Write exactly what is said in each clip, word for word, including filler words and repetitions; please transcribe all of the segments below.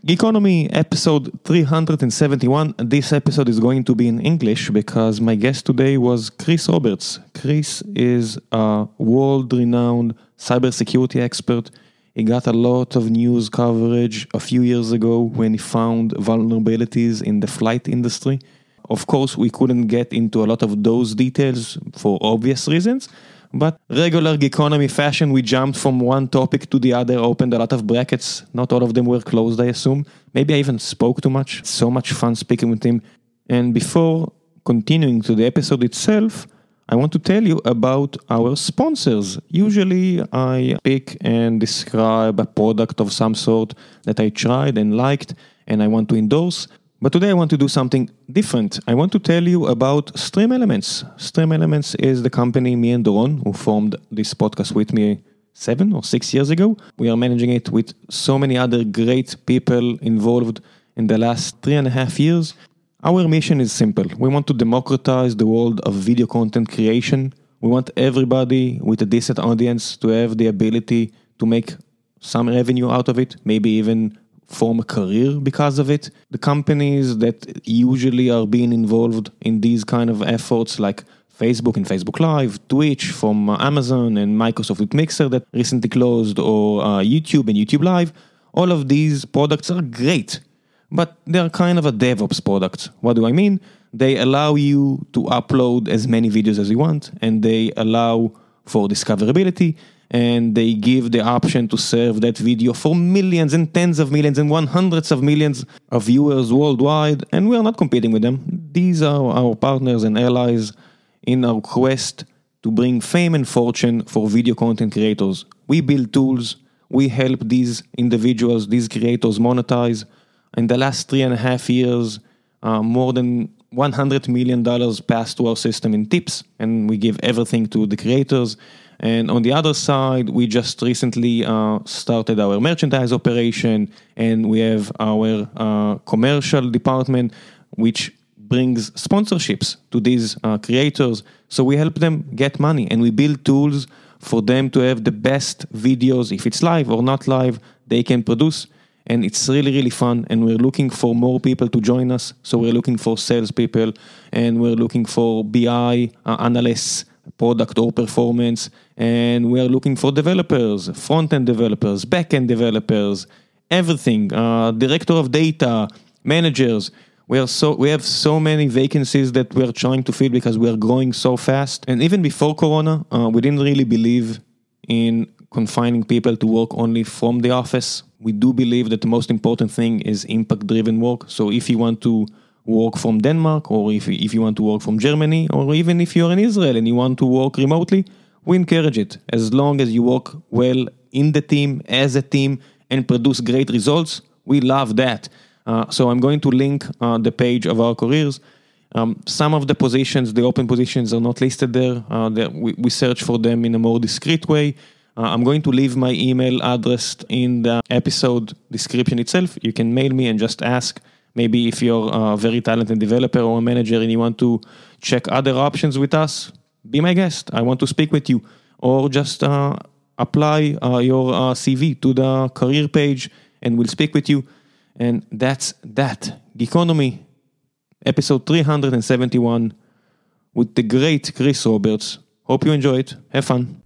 Geekonomy episode three seventy-one. This episode is going to be in English because my guest today was Chris Roberts. Chris is a world-renowned cybersecurity expert. He got a lot of news coverage a few years ago when he found vulnerabilities in the flight industry. Of course, we couldn't get into a lot of those details for obvious reasons, but regular Geekonomy fashion, we jumped from one topic to the other, opened a lot of brackets. Not all of them were closed, I assume. Maybe I even spoke too much. So much fun speaking with him. And before continuing to the episode itself, I want to tell you about our sponsors. Usually I pick and describe a product of some sort that I tried and liked and I want to endorse. But today I want to do something different. I want to tell you about Stream Elements. Stream Elements is the company me and Doron, who formed this podcast with me seven or six years ago. We are managing it with so many other great people involved in the last three and a half years. Our mission is simple. We want to democratize the world of video content creation. We want everybody with a decent audience to have the ability to make some revenue out of it, maybe even form a career because of it. The companies that usually are being involved in these kind of efforts like Facebook and Facebook Live, Twitch from uh, Amazon and Microsoft with Mixer that recently closed, or uh, YouTube and YouTube Live, all of these products are great, but they're kind of a DevOps product. What do I mean? They allow you to upload as many videos as you want, and they allow for discoverability, and they give the option to serve that video for millions and tens of millions and one hundreds of millions of viewers worldwide, and we are not competing with them. These are our partners and allies in our quest to bring fame and fortune for video content creators. We build tools, we help these individuals, these creators monetize. In the last three and a half years, uh, more than one hundred million dollars passed to our system in tips, and we give everything to the creators. And on the other side, we just recently uh, started our merchandise operation, and we have our uh, commercial department, which brings sponsorships to these uh, creators. So we help them get money, and we build tools for them to have the best videos, if it's live or not live, they can produce. And it's really, really fun, and we're looking for more people to join us. So we're looking for salespeople, and we're looking for B I uh, analysts, product or performance, and we are looking for developers, front-end developers, back-end developers, everything, uh, director of data, managers. We are so we have so many vacancies that we are trying to fill because we are growing so fast. And even before Corona, uh, we didn't really believe in confining people to work only from the office. We do believe that the most important thing is impact-driven work. So if you want to work from Denmark, or if, if you want to work from Germany, or even if you're in Israel and you want to work remotely, we encourage it. As long as you work well in the team, as a team, and produce great results, we love that. Uh, so I'm going to link uh, the page of our careers. Um, some of the positions, the open positions, are not listed there. Uh, we, we search for them in a more discreet way. Uh, I'm going to leave my email address in the episode description itself. You can mail me and just ask. Maybe if you're a very talented developer or a manager and you want to check other options with us, be my guest. I want to speak with you. Or just uh, apply uh, your uh, C V to the career page and we'll speak with you. And that's that. Geekonomy, episode three seventy-one with the great Chris Roberts. Hope you enjoy it. Have fun.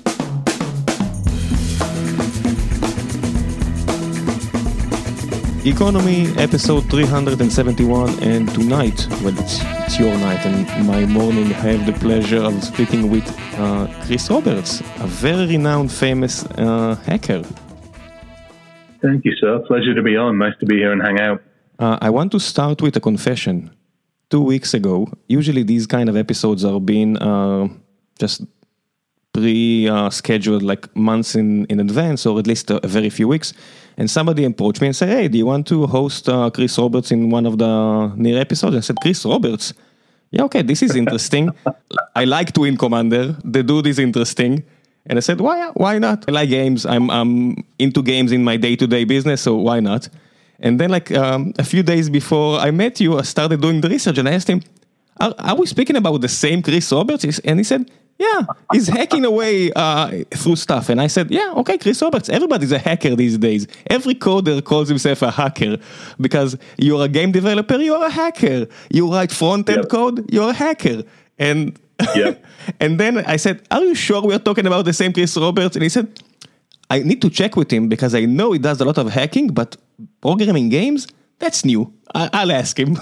Geekonomy, episode three seventy-one, and tonight, well, it's, it's your night, and my morning, I have the pleasure of speaking with uh, Chris Roberts, a very renowned, famous uh, hacker. Thank you, sir. Pleasure to be on. Nice to be here and hang out. Uh, I want to start with a confession. Two weeks ago, usually these kind of episodes are being uh, just pre-scheduled, uh, like months in, in advance, or at least a, a very few weeks. And somebody approached me and said, hey, do you want to host uh, Chris Roberts in one of the near episodes? I said, Chris Roberts? Yeah, okay, this is interesting. I like Twin Commander. The dude is interesting. And I said, why why not? I like games. I'm, I'm into games in my day-to-day business, so why not? And then like um, a few days before I met you, I started doing the research and I asked him, are, are we speaking about the same Chris Roberts? And he said, yeah, he's hacking away uh, through stuff. And I said, yeah, okay, Chris Roberts, everybody's a hacker these days. Every coder calls himself a hacker because you're a game developer, you're a hacker. You write front-end yep. code, you're a hacker. And yep. and then I said, are you sure we're talking about the same Chris Roberts? And he said, I need to check with him because I know he does a lot of hacking, but programming games, that's new. I- I'll ask him.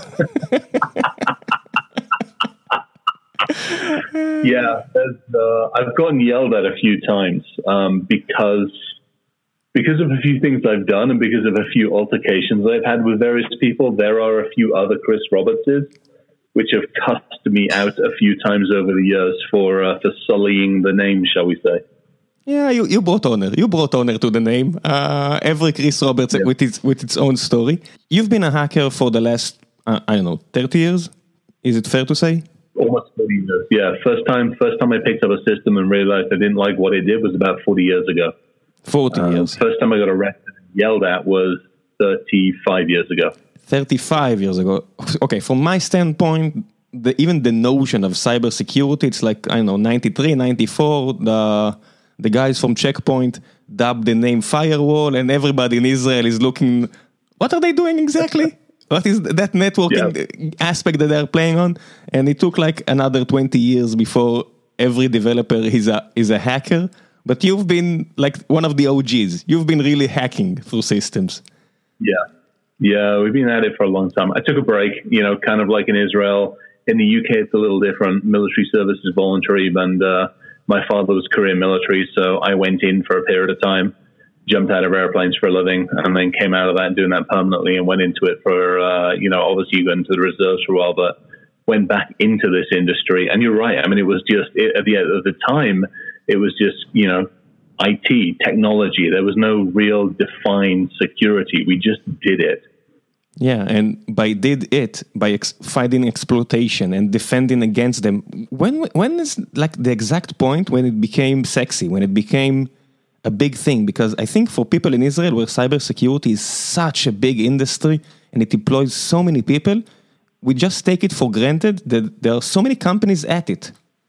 Yeah, uh, I've gotten yelled at a few times um, because because of a few things I've done and because of a few altercations I've had with various people. There are a few other Chris Robertses which have cussed me out a few times over the years for uh, for sullying the name, shall we say. Yeah, you, you brought honor. You brought honor to the name. Uh, every Chris Roberts yeah. with its with its own story. You've been a hacker for the last, uh, I don't know, thirty years? Is it fair to say? Almost thirty years, yeah. First time first time I picked up a system and realized I didn't like what it did was about forty years ago. forty um, years. First time I got arrested and yelled at was thirty-five years ago. thirty-five years ago. Okay, from my standpoint, the, even the notion of cybersecurity, it's like, I don't know, ninety-three, ninety-four, the, the guys from Checkpoint dubbed the name firewall and everybody in Israel is looking, what are they doing exactly? What is that networking yeah. aspect that they're playing on? And it took like another twenty years before every developer is a is a hacker. But you've been like one of the O Gs. You've been really hacking through systems. Yeah. Yeah, we've been at it for a long time. I took a break, you know, kind of like in Israel. In the U K, it's a little different. Military service is voluntary. And uh, my father was career military, so I went in for a period of time. Jumped out of airplanes for a living and then came out of that doing that permanently and went into it for, uh, you know, obviously you got into the reserves for a while, but went back into this industry. And you're right. I mean, it was just, it, at, the, at the time, it was just, you know, I T, technology. There was no real defined security. We just did it. Yeah, and by did it, by ex- fighting exploitation and defending against them, when when is like the exact point when it became sexy, when it became a big thing? Because I think for people in Israel where cybersecurity is such a big industry and it employs so many people, we just take it for granted that there are so many companies at it.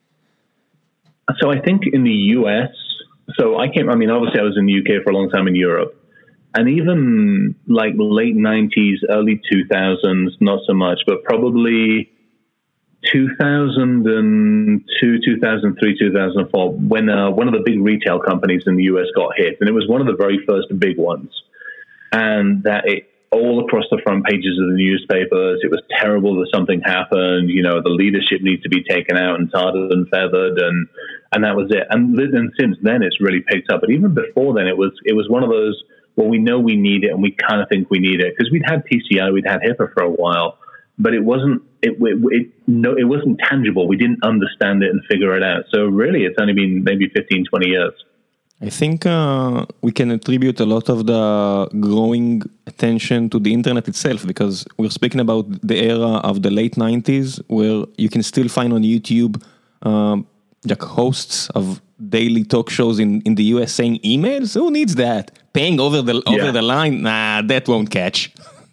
So I think in the U S, so I came, I mean, obviously I was in the U K for a long time in Europe. And even like late nineties, early two thousands, not so much, but probably two thousand two, two thousand three, two thousand four, when uh, one of the big retail companies in the U S got hit. And it was one of the very first big ones. And that it all across the front pages of the newspapers, it was terrible that something happened. You know, the leadership needs to be taken out and tarred and feathered. And, and that was it. And, and since then, it's really picked up. But even before then, it was it was one of those, well, we know we need it and we kind of think we need it. Because we'd had P C I, we'd had HIPAA for a while. But it wasn't it, it, it no it wasn't tangible. We didn't understand it and figure it out. So really, it's only been maybe fifteen, twenty years. I think uh, we can attribute a lot of the growing attention to the internet itself, because we're speaking about the era of the late nineties, where you can still find on YouTube um, like hosts of daily talk shows in, in the U S saying emails. Who needs that? Paying over the over yeah. the line? Nah, that won't catch.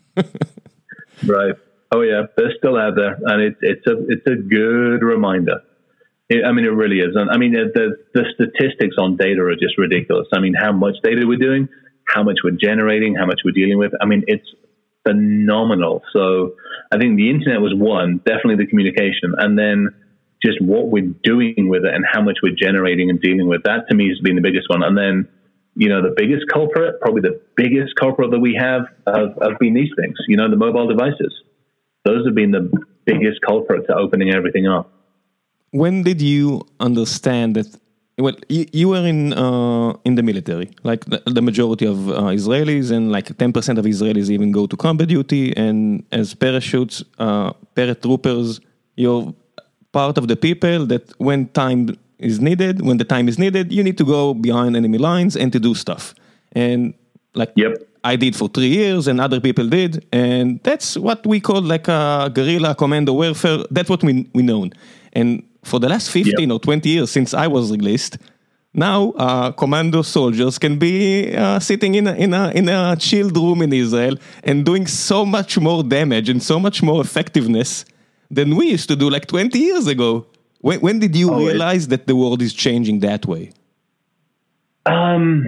Right. Oh yeah, they're still out there, and it's it's a it's a good reminder. It, I mean, it really is. And I mean, the the statistics on data are just ridiculous. I mean, how much data we're doing, how much we're generating, how much we're dealing with. I mean, it's phenomenal. So I think the internet was one, definitely the communication, and then just what we're doing with it and how much we're generating and dealing with. That to me has been the biggest one. And then, you know, the biggest culprit, probably the biggest culprit that we have, have, have been these things. You know, the mobile devices. Those have been the biggest culprit to opening everything up. When did you understand that? Well, you, you were in uh, in the military, like the, the majority of uh, Israelis, and like ten percent of Israelis even go to combat duty. And as parachutes, uh, paratroopers, you're part of the people that when time is needed, when the time is needed, you need to go behind enemy lines and to do stuff. And like, yep. I did for three years and other people did. And that's what we call like a guerrilla commando warfare. That's what we we know. And for the last fifteen yep. or twenty years since I was released, now uh, commando soldiers can be uh, sitting in a, in, a, in a chilled room in Israel and doing so much more damage and so much more effectiveness than we used to do like twenty years ago. When, when did you Oh, realize that the world is changing that way? Um,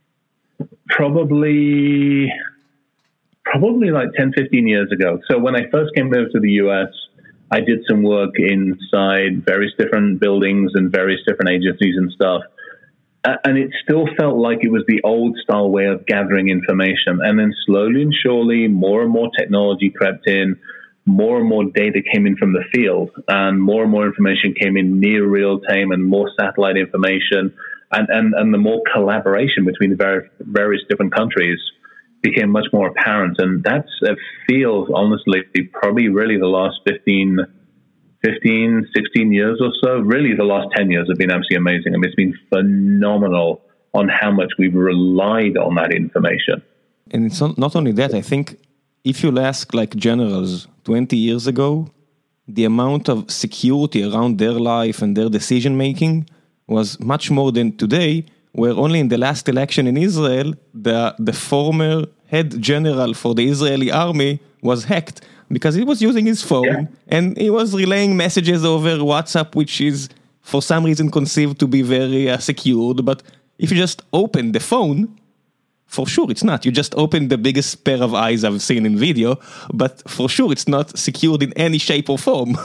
probably, probably like ten, fifteen years ago. So when I first came over to the U S, I did some work inside various different buildings and various different agencies and stuff. And it still felt like it was the old style way of gathering information. And then slowly and surely, more and more technology crept in, more and more data came in from the field, and more and more information came in near real time, and more satellite information, and, and, and the more collaboration between the various, various different countries became much more apparent. And that's, it feels, honestly, probably really the last fifteen, fifteen, sixteen years or so. Really, the last ten years have been absolutely amazing. I mean, it's been phenomenal on how much we've relied on that information. And it's not, not only that, I think if you'll ask like generals twenty years ago, the amount of security around their life and their decision making was much more than today, where only in the last election in Israel, the, the former head general for the Israeli army was hacked because he was using his phone yeah. and he was relaying messages over WhatsApp, which is for some reason conceived to be very uh, secured. But if you just open the phone, for sure it's not. You just open the biggest pair of eyes I've seen in video, but for sure it's not secured in any shape or form.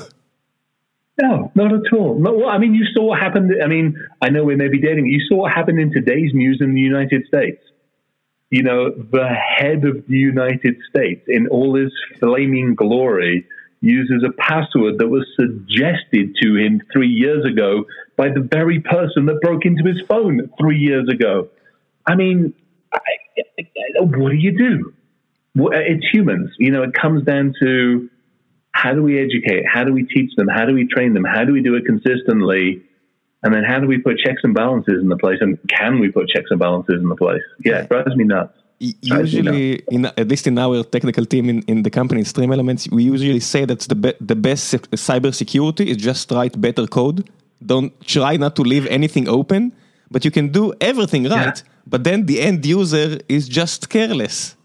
No, not at all. No, well, I mean, you saw what happened. I mean, I know we may be dating. You saw what happened in today's news in the United States. You know, the head of the United States, in all his flaming glory, uses a password that was suggested to him three years ago by the very person that broke into his phone three years ago. I mean, I, what do you do? It's humans. You know, it comes down to how do we educate? How do we teach them? How do we train them? How do we do it consistently? And then how do we put checks and balances in the place? And can we put checks and balances in the place? Yeah, it drives me nuts. Usually, in, at least in our technical team in, in the company, in Stream Elements, we usually say that the, be, the best cyber security is just write better code. Don't try not to leave anything open, but you can do everything right. Yeah. But then the end user is just careless.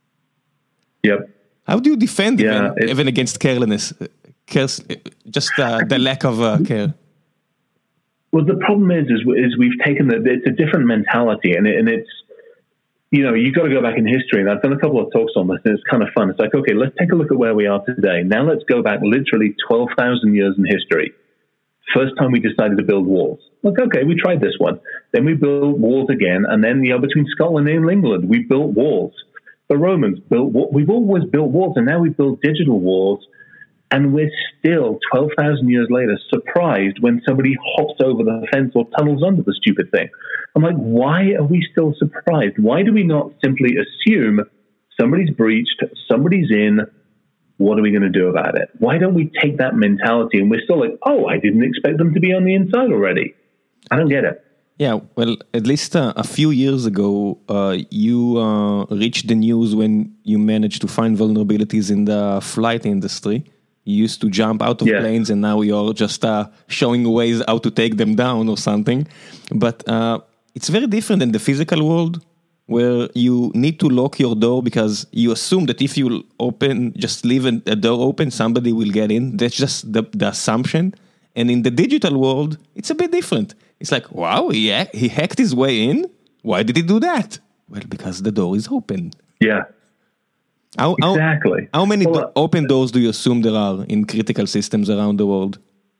Yep. How do you defend yeah, even, even against carelessness? Cares, just uh, the lack of uh, care. Well, the problem is, is, is we've taken the, it's a different mentality, and, it, and it's, you know, you've got to go back in history, and I've done a couple of talks on this, and it's kind of fun. It's like, okay, let's take a look at where we are today. Now let's go back literally twelve thousand years in history. First time we decided to build walls. Like, okay, we tried this one. Then we built walls again, and then, you know, between Scotland and England, we built walls. The Romans built, we've always built walls, and now we build digital walls. And we're still, twelve thousand years later, surprised when somebody hops over the fence or tunnels under the stupid thing. I'm like, why are we still surprised? Why do we not simply assume somebody's breached, somebody's in, what are we going to do about it? Why don't we take that mentality and we're still like, oh, I didn't expect them to be on the inside already. I don't get it. Yeah, well, at least uh, a few years ago, uh, you uh, reached the news when you managed to find vulnerabilities in the flight industry. You used to jump out of yeah. planes, and now you're just uh, showing ways how to take them down or something. But uh, it's very different in the physical world, where you need to lock your door because you assume that if you open, just leave a door open, somebody will get in. That's just the, the assumption. And in the digital world, it's a bit different. It's like, wow, he, he hacked his way in. Why did he do that? Well, because the door is open. Yeah. How, exactly. How, how many well, do, open doors do you assume there are in critical systems around the world?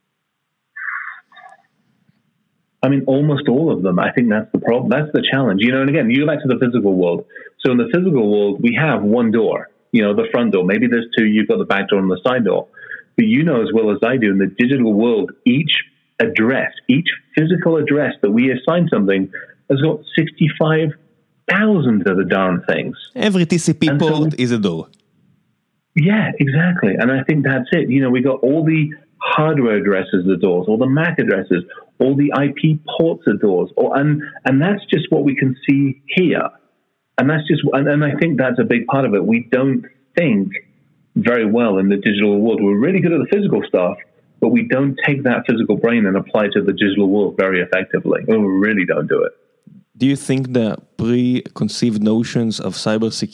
I mean, almost all of them. I think that's the problem. That's the challenge. You know, and again, you go back to the physical world. So in the physical world, we have one door, you know, the front door. Maybe there's two, you've got the back door and the side door. But you know as well as I do, in the digital world, each address, each physical address that we assign something has got sixty-five thousand of the darn things. Every T C P and port so, is a door. Yeah, exactly. And I think that's it. You know, we got all the hardware addresses of doors, all the M A C addresses, all the I P ports of doors, or, and and that's just what we can see here. And that's just, and, and I think that's a big part of it. We don't think very well in the digital world. We're really good at the physical stuff, but we don't take that physical brain and apply it to the digital world very effectively. We really don't do it. Do you think the preconceived notions of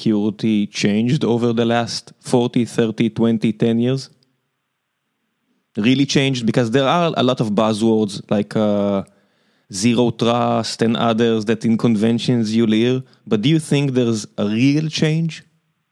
cybersecurity changed over the last forty, thirty, twenty, ten years? really changed? Because there are a lot of buzzwords like uh, zero trust and others that in conventions you'll hear, but do you think there's a real change?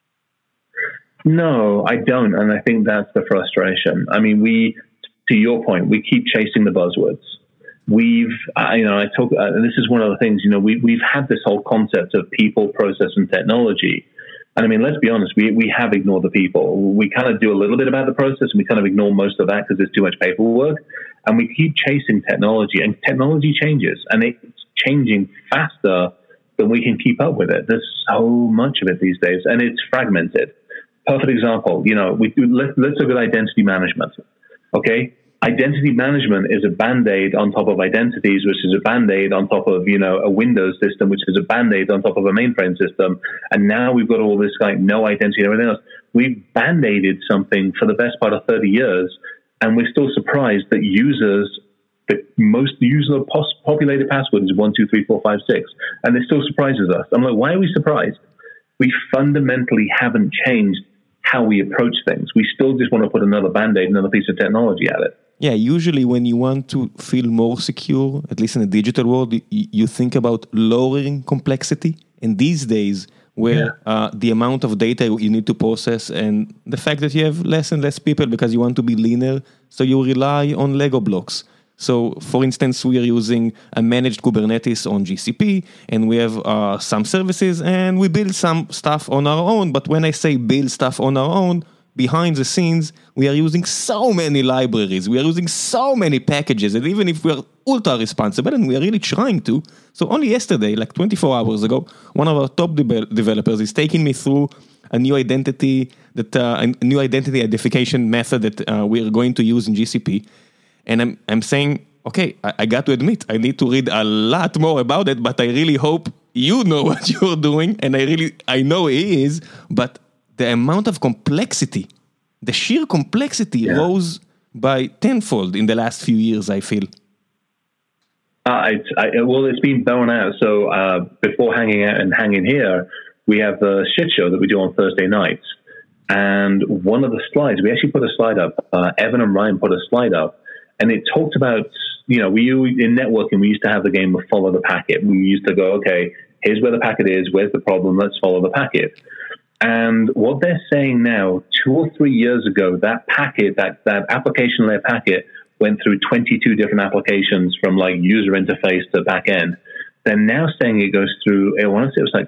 No, I don't. And I think that's the frustration. I mean, we, to your point, we keep chasing the buzzwords. We've, uh, you know, I talk, uh, and this is one of the things, you know, we, we've had this whole concept of people, process, and technology. And I mean, let's be honest, we, we have ignored the people. We kind of do a little bit about the process and we kind of ignore most of that because there's too much paperwork. And we keep chasing technology, and technology changes, and it's changing faster than we can keep up with it. There's so much of it these days, and it's fragmented. Perfect example, you know, we do, let, let's look at identity management. Okay. Identity management is a Band-Aid on top of identities, which is a Band-Aid on top of, you know, a Windows system, which is a Band-Aid on top of a mainframe system. And now we've got all this like no identity and everything else. We've Band-Aided something for the best part of thirty years. And we're still surprised that users, the most user populated password is one, two, three, four, five, six. And it still surprises us. I'm like, why are we surprised? We fundamentally haven't changed how we approach things. We still just want to put another Band-Aid, another piece of technology at it. Yeah, usually when you want to feel more secure, at least in the digital world, you, you think about lowering complexity. And these days, where yeah. uh, the amount of data you need to process and the fact that you have less and less people because you want to be leaner, so you rely on Lego blocks. So, for instance, we are using a managed Kubernetes on G C P, and we have uh, some services, and we build some stuff on our own. But when I say build stuff on our own, behind the scenes, we are using so many libraries, we are using so many packages, and even if we are ultra responsible, and we are really trying to, so only yesterday, like twenty-four hours ago, one of our top de- developers is taking me through a new identity, that uh, a new identity identification method that uh, we are going to use in G C P. And I'm I'm saying, okay, I, I got to admit, I need to read a lot more about it, but I really hope you know what you're doing, and I really, I know he is, but the amount of complexity, the sheer complexity yeah. rose by tenfold in the last few years, I feel. Uh, it's, I, well, it's been borne out. So uh, before hanging out and hanging here, we have the shit show that we do on Thursday nights. And one of the slides, we actually put a slide up. Uh, Evan and Ryan put a slide up. And it talked about, you know, we in networking, we used to have the game of follow the packet. We used to go, okay, here's where the packet is. Where's the problem? Let's follow the packet. And what they're saying now, two or three years ago, that packet, that, that application layer packet went through twenty-two different applications from like user interface to back end. They're now saying it goes through, I want to say it was like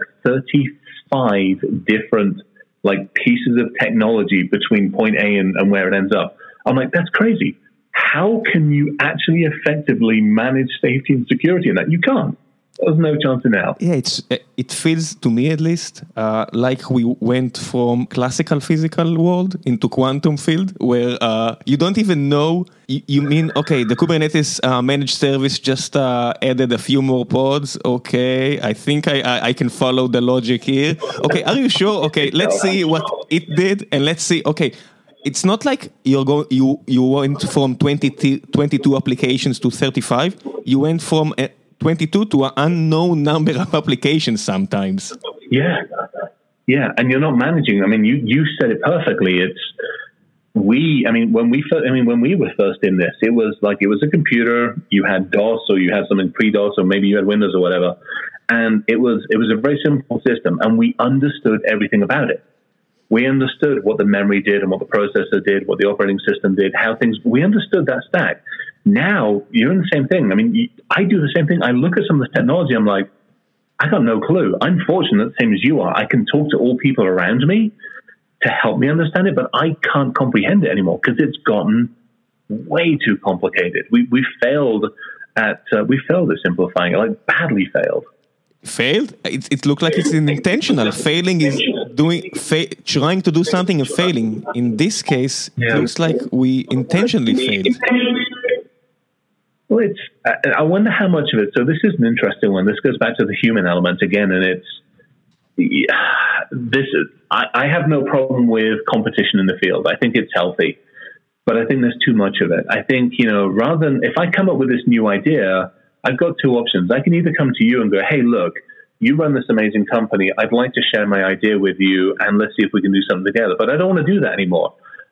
thirty-five different like pieces of technology between point A and, and where it ends up. I'm like, that's crazy. How can you actually effectively manage safety and security in that? You can't. There's no chance in hell. Yeah, it's it feels to me at least uh, like we went from classical physical world into quantum field, where uh, you don't even know. You, you mean okay? The Kubernetes uh, managed service just uh, added a few more pods. Okay, I think I, I I can follow the logic here. Okay, are you sure? Okay, let's see what it did, and let's see. Okay. It's not like you're going. You you went from twenty, twenty-two applications to thirty-five. You went from uh, twenty-two to an unknown number of applications sometimes. Yeah, yeah, and you're not managing. I mean, you you said it perfectly. It's we. I mean, when we first, I mean, when we were first in this, it was like it was a computer. You had DOS, or you had something pre-DOS, or maybe you had Windows or whatever, and it was it was a very simple system, and we understood everything about it. We understood what the memory did and what the processor did, what the operating system did, how things, we understood that stack. Now, you're in the same thing. I mean, I do the same thing. I look at some of the technology, I'm like, I got no clue. I'm fortunate, same as you are. I can talk to all people around me to help me understand it, but I can't comprehend it anymore because it's gotten way too complicated. We we failed at, uh, we failed at simplifying it, like badly failed. Failed? It, it looked like it's intentional. Failing is doing, fa- trying to do something and failing. In this case, yeah. It looks like we intentionally failed. Well, it's, I, I wonder how much of it, so this is an interesting one. This goes back to the human element again, and it's, yeah, this is, I, I have no problem with competition in the field. I think it's healthy, but I think there's too much of it. I think, you know, rather than, if I come up with this new idea, I've got two options. I can either come to you and go, hey, look, you run this amazing company. I'd like to share my idea with you, and let's see if we can do something together. But I don't want to do that anymore.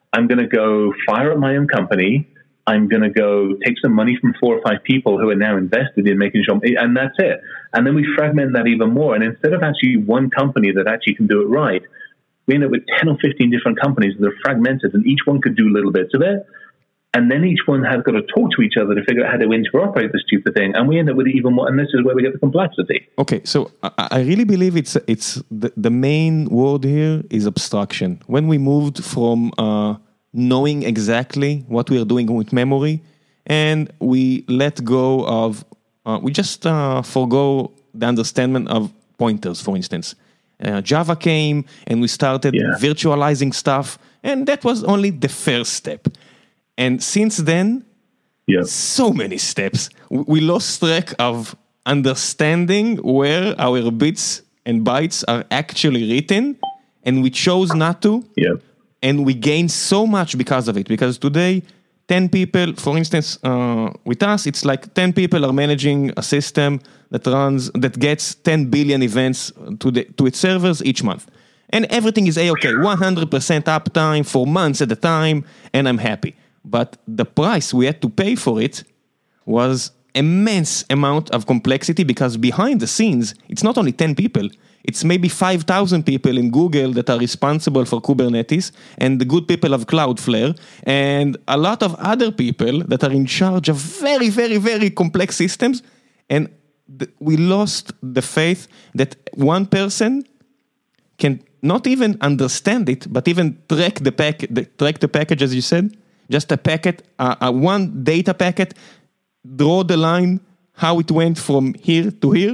I'm going to go fire up my own company. I'm going to go take some money from four or five people who are now invested in making sure, and that's it. And then we fragment that even more. And instead of actually one company that actually can do it right, we end up with ten or fifteen different companies that are fragmented, and each one could do little bits of it. And then each one has got to talk to each other to figure out how to interoperate the stupid thing. And we end up with even more, and this is where we get the complexity. Okay, so I, I really believe it's it's the, the main word here is abstraction. When we moved from uh, knowing exactly what we are doing with memory, and we let go of, uh, we just uh, forgo the understanding of pointers, for instance. Uh, Java came and we started yeah. virtualizing stuff, and that was only the first step. And since then, yep. so many steps. We lost track of understanding where our bits and bytes are actually written, and we chose not to. Yep. And we gained so much because of it. Because today, ten people, for instance, uh, with us, it's like ten people are managing a system that runs, that gets ten billion events to the to its servers each month. And everything is A-OK, one hundred percent uptime for months at a time, and I'm happy. But the price we had to pay for it was immense amount of complexity, because behind the scenes, it's not only ten people, it's maybe five thousand people in Google that are responsible for Kubernetes, and the good people of Cloudflare, and a lot of other people that are in charge of very, very, very complex systems. And th- we lost the faith that one person can not even understand it, but even track the pack, the, track the package, as you said. Just a packet, uh, uh, one data packet, draw the line, how it went from here to here.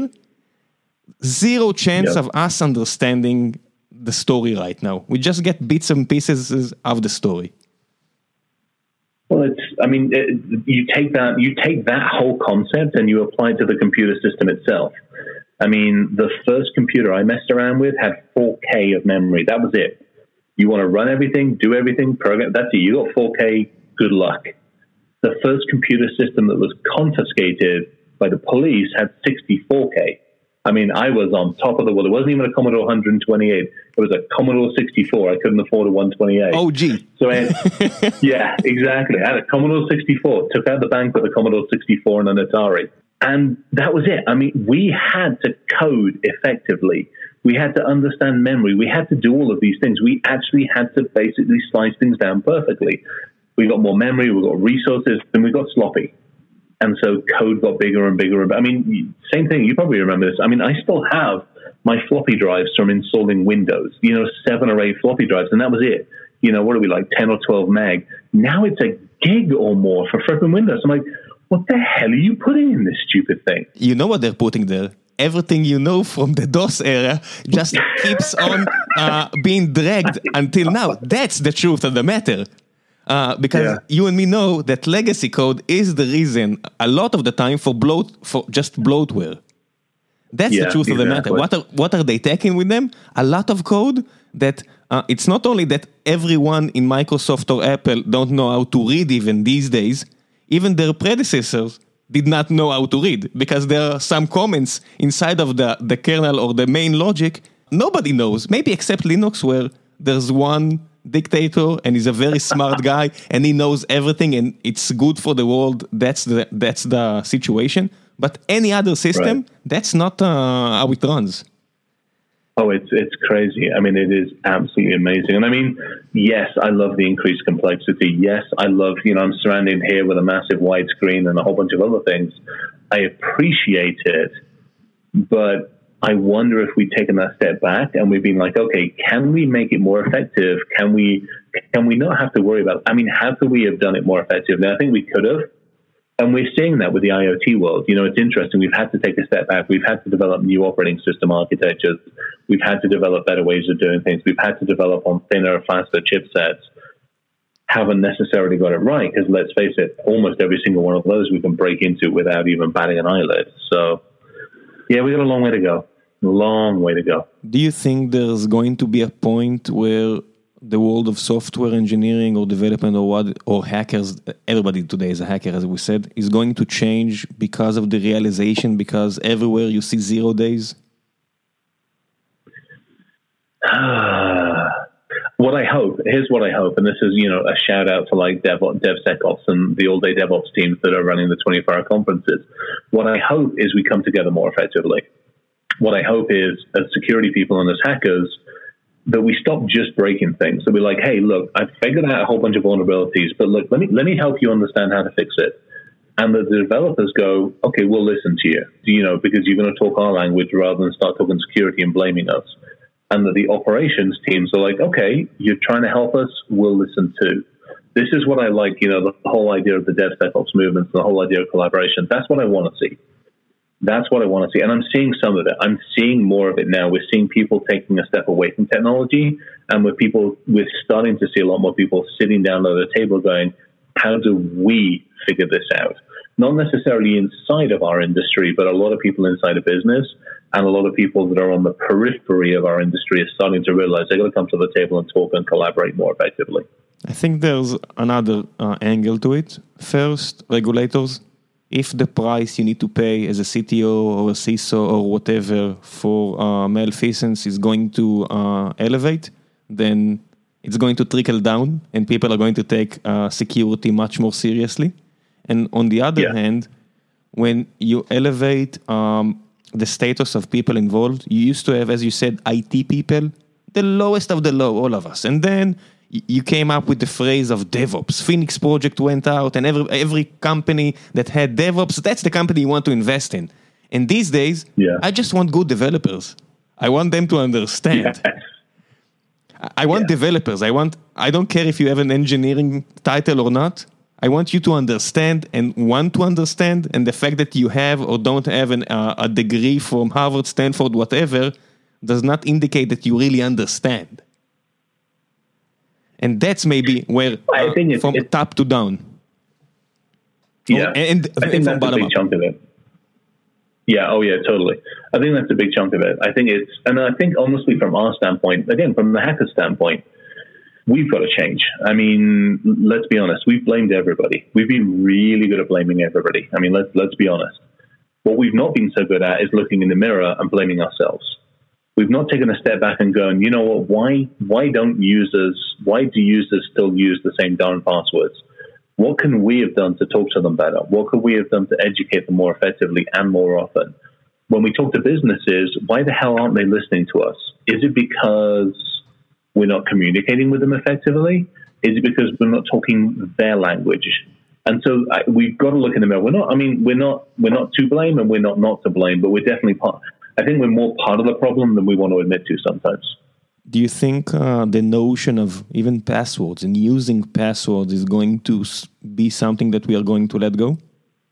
Zero chance yep. of us understanding the story right now. We just get bits and pieces of the story. Well, it's, I mean, it, you take that, you take that whole concept and you apply it to the computer system itself. I mean, the first computer I messed around with had four K of memory. That was it. You want to run everything, do everything, program, that's it. You got four K, good luck. The first computer system that was confiscated by the police had sixty-four K. I mean, I was on top of the world. It wasn't even a Commodore one twenty-eight. It was a Commodore sixty-four. I couldn't afford a one twenty-eight. Oh, gee. So I had, yeah, exactly. I had a Commodore sixty-four, took out the bank with a Commodore sixty-four and an Atari. And that was it. I mean, we had to code effectively. We had to understand memory. We had to do all of these things. We actually had to basically slice things down perfectly. We got more memory, we got resources, and we got sloppy. And so code got bigger and bigger. I mean, same thing. You probably remember this. I mean, I still have my floppy drives from installing Windows, you know, seven or eight floppy drives, and that was it. You know, what are we, like ten or twelve meg? Now it's a gig or more for freaking Windows. I'm like, what the hell are you putting in this stupid thing? You know what they're putting there? Everything you know from the DOS era just keeps on uh, being dragged until now. That's the truth of the matter. Uh, because yeah. you and me know that legacy code is the reason a lot of the time for bloat, for just bloatware. That's yeah, the truth exactly. of the matter. What are, what are they taking with them? A lot of code that uh, it's not only that everyone in Microsoft or Apple don't know how to read even these days, even their predecessors did not know how to read, because there are some comments inside of the, the kernel or the main logic nobody knows, maybe except Linux, where there's one dictator and he's a very smart guy and he knows everything and it's good for the world. That's the that's the situation. But any other system, right. that's not uh, how it runs. Oh, it's it's crazy. I mean, it is absolutely amazing. And I mean, yes, I love the increased complexity. Yes, I love, you know, I'm surrounded here with a massive widescreen and a whole bunch of other things. I appreciate it, but I wonder if we've taken that step back and we've been like, okay, can we make it more effective? Can we can we not have to worry about, I mean, how could we have done it more effective? Now, I think we could have. And we're seeing that with the IoT world. You know, it's interesting. We've had to take a step back. We've had to develop new operating system architectures. We've had to develop better ways of doing things. We've had to develop on thinner, faster chipsets. Haven't necessarily got it right, because let's face it, almost every single one of those we can break into without even batting an eyelid. So, yeah, we got a long way to go. Long way to go. Do you think there's going to be a point where the world of software engineering or development or what, or hackers, everybody today is a hacker, as we said, is going to change because of the realization, because everywhere you see zero days? what I hope, here's what I hope, and this is, you know, a shout out to like Dev, DevSecOps and the all day DevOps teams that are running the twenty-four hour conferences. What I hope is we come together more effectively. What I hope is, as security people and as hackers, that we stop just breaking things. That we're like, hey, look, I've figured out a whole bunch of vulnerabilities, but look, let me let me help you understand how to fix it. And that the developers go, okay, we'll listen to you, you know, because you're going to talk our language rather than start talking security and blaming us. And that the operations teams are like, okay, you're trying to help us, we'll listen too. This is what I like, you know, the whole idea of the DevSecOps movement, the whole idea of collaboration. That's what I want to see. That's what I want to see. And I'm seeing some of it. I'm seeing more of it now. We're seeing people taking a step away from technology. And with people, we're starting to see a lot more people sitting down at the table going, how do we figure this out? Not necessarily inside of our industry, but a lot of people inside of business and a lot of people that are on the periphery of our industry are starting to realize they're going to come to the table and talk and collaborate more effectively. I think there's another uh, angle to it. First, regulators. If the price you need to pay as a C T O or a C I S O or whatever for uh, malfeasance is going to uh, elevate, then it's going to trickle down and people are going to take uh, security much more seriously. And on the other yeah. hand, when you elevate um, the status of people involved, you used to have, as you said, I T people, the lowest of the low, all of us. And then you came up with the phrase of DevOps. Phoenix Project went out, and every every company that had DevOps, that's the company you want to invest in. And these days, yeah. I just want good developers. I want them to understand. Yeah. I want yeah. developers. I want. I don't care if you have an engineering title or not. I want you to understand and want to understand, and the fact that you have or don't have an, uh, a degree from Harvard, Stanford, whatever, does not indicate that you really understand. And that's maybe where, uh, I think it's, from it's, top to down. Yeah, and, and, I think and that's a big up. chunk of it. Yeah, oh yeah, totally. I think that's a big chunk of it. I think it's, and I think honestly from our standpoint, again, from the hacker standpoint, we've got to change. I mean, let's be honest. We've blamed everybody. We've been really good at blaming everybody. I mean, let's let's be honest. What we've not been so good at is looking in the mirror and blaming ourselves. We've not taken a step back and going, you know what? Why why don't users? Why do users still use the same darn passwords? What can we have done to talk to them better? What could we have done to educate them more effectively and more often? When we talk to businesses, why the hell aren't they listening to us? Is it because we're not communicating with them effectively? Is it because we're not talking their language? And so I, we've got to look in the mirror. We're not, I mean, we're not, we're not to blame and we're not not to blame, but we're definitely part. I think we're more part of the problem than we want to admit to sometimes. Do you think uh, the notion of even passwords and using passwords is going to be something that we are going to let go?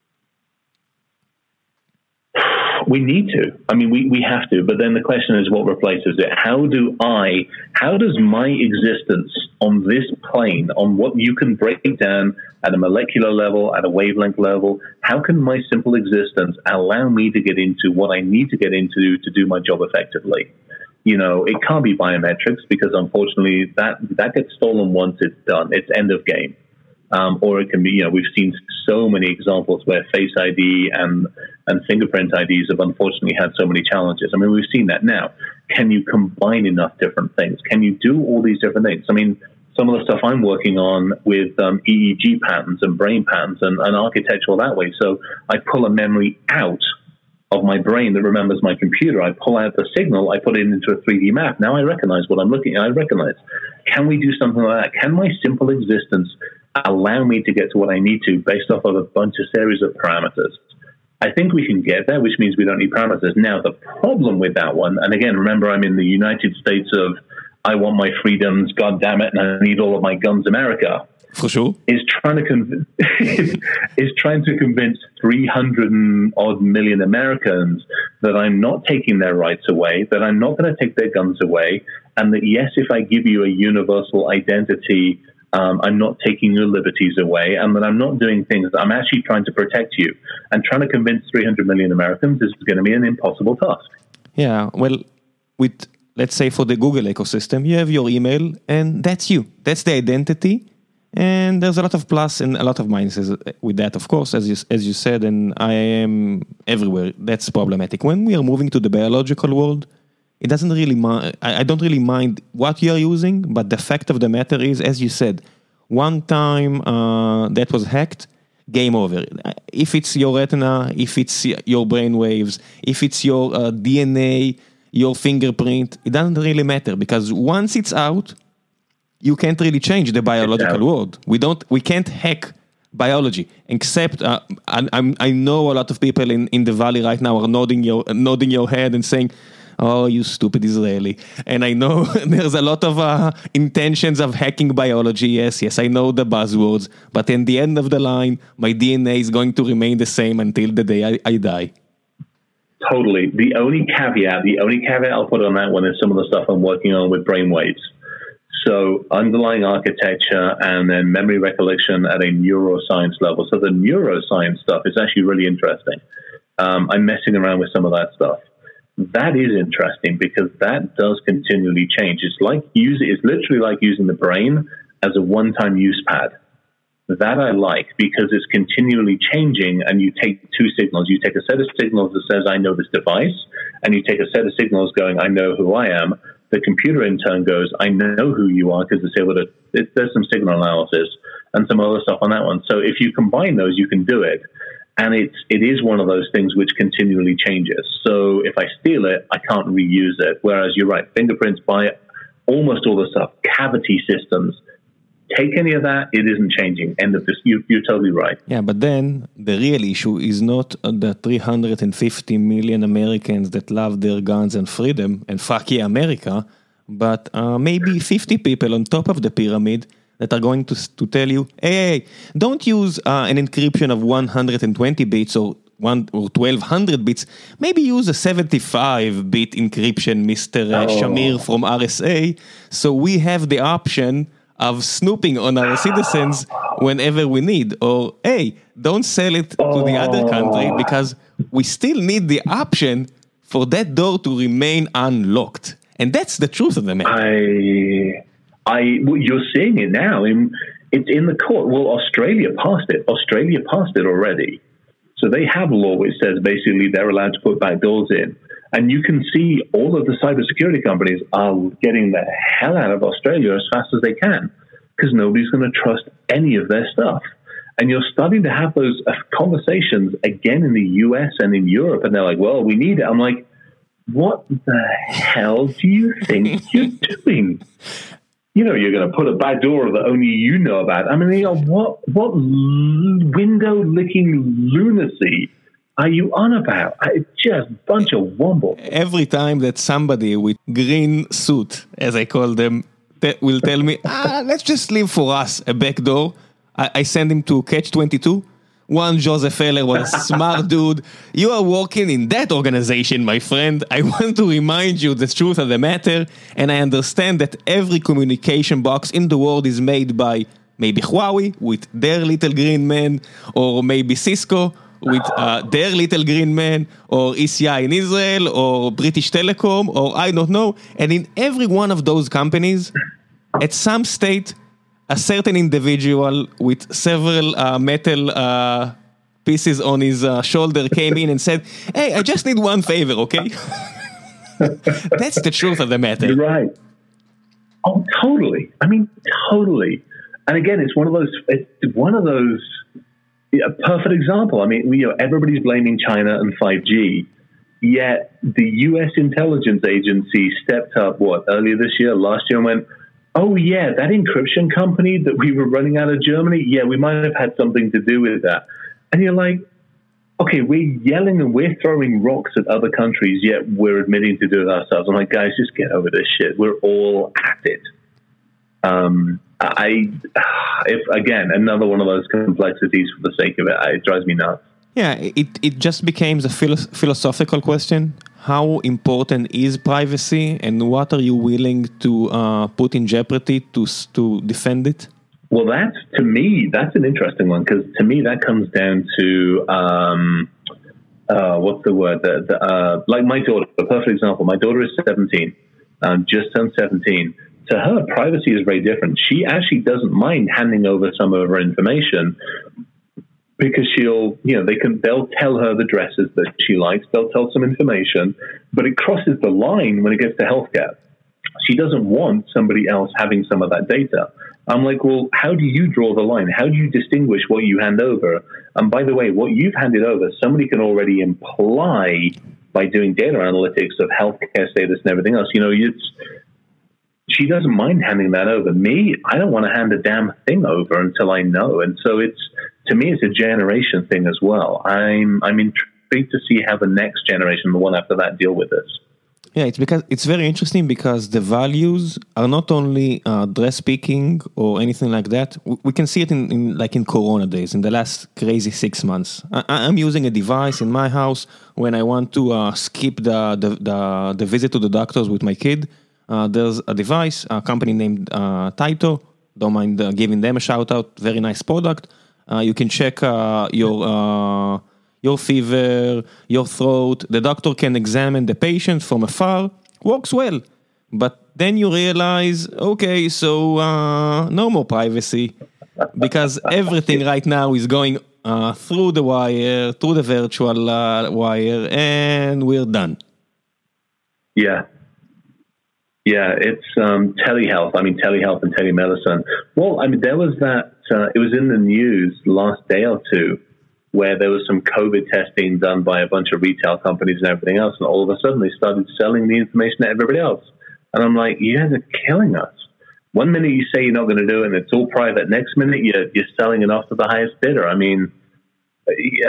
We need to. I mean, we, we have to. But then the question is, what replaces it? How do I, how does my existence on this plane, on what you can break down at a molecular level, at a wavelength level, how can my simple existence allow me to get into what I need to get into to do my job effectively? You know, it can't be biometrics because unfortunately that, that gets stolen once it's done. It's end of game. Um, or it can be, you know, we've seen so many examples where Face I D and, and fingerprint I Ds have unfortunately had so many challenges. I mean, we've seen that now. Can you combine enough different things? Can you do all these different things? I mean, some of the stuff I'm working on with um, E E G patterns and brain patterns and, and architectural that way. So I pull a memory out of my brain that remembers my computer. I pull out the signal, I put it into a three D map. Now I recognize what I'm looking at. I recognize. Can we do something like that? Can my simple existence allow me to get to what I need to based off of a bunch of series of parameters? I think we can get there, which means we don't need parameters. Now, the problem with that one, and again, remember, I'm in the United States of I want my freedoms, God damn it, and I need all of my guns, America. For sure. Is trying to convince is trying to convince three hundred odd million Americans that I'm not taking their rights away, that I'm not going to take their guns away, and that yes, if I give you a universal identity, um, I'm not taking your liberties away, and that I'm not doing things. I'm actually trying to protect you, and trying to convince three hundred million Americans is going to be an impossible task. Yeah, well, with let's say for the Google ecosystem, you have your email, and that's you. That's the identity. And there's a lot of plus and a lot of minuses with that, of course, as you, as you said, and I am everywhere. That's problematic. When we are moving to the biological world, it doesn't really mind, I, I don't really mind what you're using, but the fact of the matter is, as you said, one time uh, that was hacked, game over. If it's your retina, if it's your brain waves, if it's your uh, D N A, your fingerprint, it doesn't really matter, because once it's out, you can't really change the biological world. We don't, we can't hack biology, except uh, I, I'm, I know a lot of people in, in the Valley right now are nodding your, nodding your head and saying, oh, you stupid Israeli. And I know there's a lot of uh, intentions of hacking biology. Yes, yes, I know the buzzwords, but in the end of the line, my D N A is going to remain the same until the day I, I die. Totally. The only caveat, the only caveat I'll put on that one is some of the stuff I'm working on with brainwaves. So underlying architecture and then memory recollection at a neuroscience level. So the neuroscience stuff is actually really interesting. Um, I'm messing around with some of that stuff. That is interesting because that does continually change. It's like use it's literally like using the brain as a one-time use pad. That I like because it's continually changing, and you take two signals. You take a set of signals that says, I know this device, and you take a set of signals going, I know who I am. The computer in turn goes, I know who you are, because it's able to, it, there's some signal analysis and some other stuff on that one. So if you combine those, you can do it. And it's, it is one of those things which continually changes. So if I steal it, I can't reuse it. Whereas you're right, fingerprints, by almost all the stuff, cavity systems, take any of that, it isn't changing. End of this. You, you're totally right. Yeah, but then the real issue is not the three hundred fifty million Americans that love their guns and freedom and fuck yeah, America, but uh, maybe fifty people on top of the pyramid that are going to to tell you, hey, hey don't use uh, an encryption of one hundred twenty bits or one or twelve hundred bits. Maybe use a seventy-five bit encryption, Mister Oh. Shamir from R S A. So we have the option of snooping on our citizens whenever we need. Or, hey, don't sell it to the other country because we still need the option for that door to remain unlocked. And that's the truth of the matter. I, I, well, you're seeing it now. In, it's in the court. Well, Australia passed it. Australia passed it already. So they have a law which says basically they're allowed to put back doors in. And you can see all of the cybersecurity companies are getting the hell out of Australia as fast as they can because nobody's going to trust any of their stuff. And you're starting to have those conversations again in the U S and in Europe. And they're like, well, we need it. I'm like, what the hell do you think you're doing? You know, you're going to put a back door that only you know about. I mean, you know, what, what window-licking lunacy are you on about? It's just a bunch of wumble. Every time that somebody with green suit, as I call them, te- will tell me, ah, let's just leave for us a back door, I, I send him to Catch twenty-two. One Joseph Heller was a smart dude. You are working in that organization, my friend. I want to remind you the truth of the matter, and I understand that every communication box in the world is made by maybe Huawei with their little green man, or maybe Cisco with uh, their little green man, or E C I in Israel, or British Telecom, or I don't know. And in every one of those companies, at some state, a certain individual with several uh, metal uh, pieces on his uh, shoulder came in and said, hey, I just need one favor, okay? That's the truth of the matter. You're right. Oh, totally. I mean, totally. And again, it's one of those, it's one of those, a perfect example. I mean, you know, everybody's blaming China and five G, yet the U S intelligence agency stepped up, what, earlier this year, last year, and went, oh yeah, that encryption company that we were running out of Germany, yeah, we might have had something to do with that. And you're like, okay, we're yelling and we're throwing rocks at other countries, yet we're admitting to do it ourselves. I'm like, guys, just get over this shit. We're all at it. Um, I, if again, another one of those complexities for the sake of it, it drives me nuts. Yeah, it, it just becomes a philo- philosophical question. How important is privacy, and what are you willing to uh, put in jeopardy to to defend it? Well, that's, to me, that's an interesting one, because to me that comes down to, um, uh, what's the word? The, the, uh, like my daughter, a perfect example. My daughter is seventeen, um, just turned seventeen. To her, privacy is very different. She actually doesn't mind handing over some of her information because she'll, you know, they can, they'll tell her the dresses that she likes. They'll tell some information, but it crosses the line when it gets to healthcare. She doesn't want somebody else having some of that data. I'm like, well, how do you draw the line? How do you distinguish what you hand over? And by the way, what you've handed over, somebody can already imply by doing data analytics of healthcare status and everything else. You know, it's, she doesn't mind handing that over. Me, I don't want to hand a damn thing over until I know. And so it's, to me, it's a generation thing as well. I'm, I'm intrigued to see how the next generation, the one after that, deal with this. Yeah, it's because it's very interesting because the values are not only uh, dress picking or anything like that. We, we can see it in, in like in Corona days, in the last crazy six months. I, I'm using a device in my house when I want to uh, skip the, the the the visit to the doctors with my kid. Uh, there's a device, a company named uh, Taito. Don't mind uh, giving them a shout out. Very nice product. Uh, you can check uh, your. Uh, your fever, your throat, the doctor can examine the patient from afar, works well. But then you realize, okay, so uh, no more privacy, because everything right now is going uh, through the wire, through the virtual uh, wire, and we're done. Yeah. Yeah, it's um, telehealth. I mean, telehealth and telemedicine. Well, I mean, there was that, uh, it was in the news last day or two, where there was some COVID testing done by a bunch of retail companies and everything else, and all of a sudden they started selling the information to everybody else. And I'm like, you guys are killing us. One minute you say you're not going to do it and it's all private. Next minute you're, you're selling it off to the highest bidder. I mean, yeah,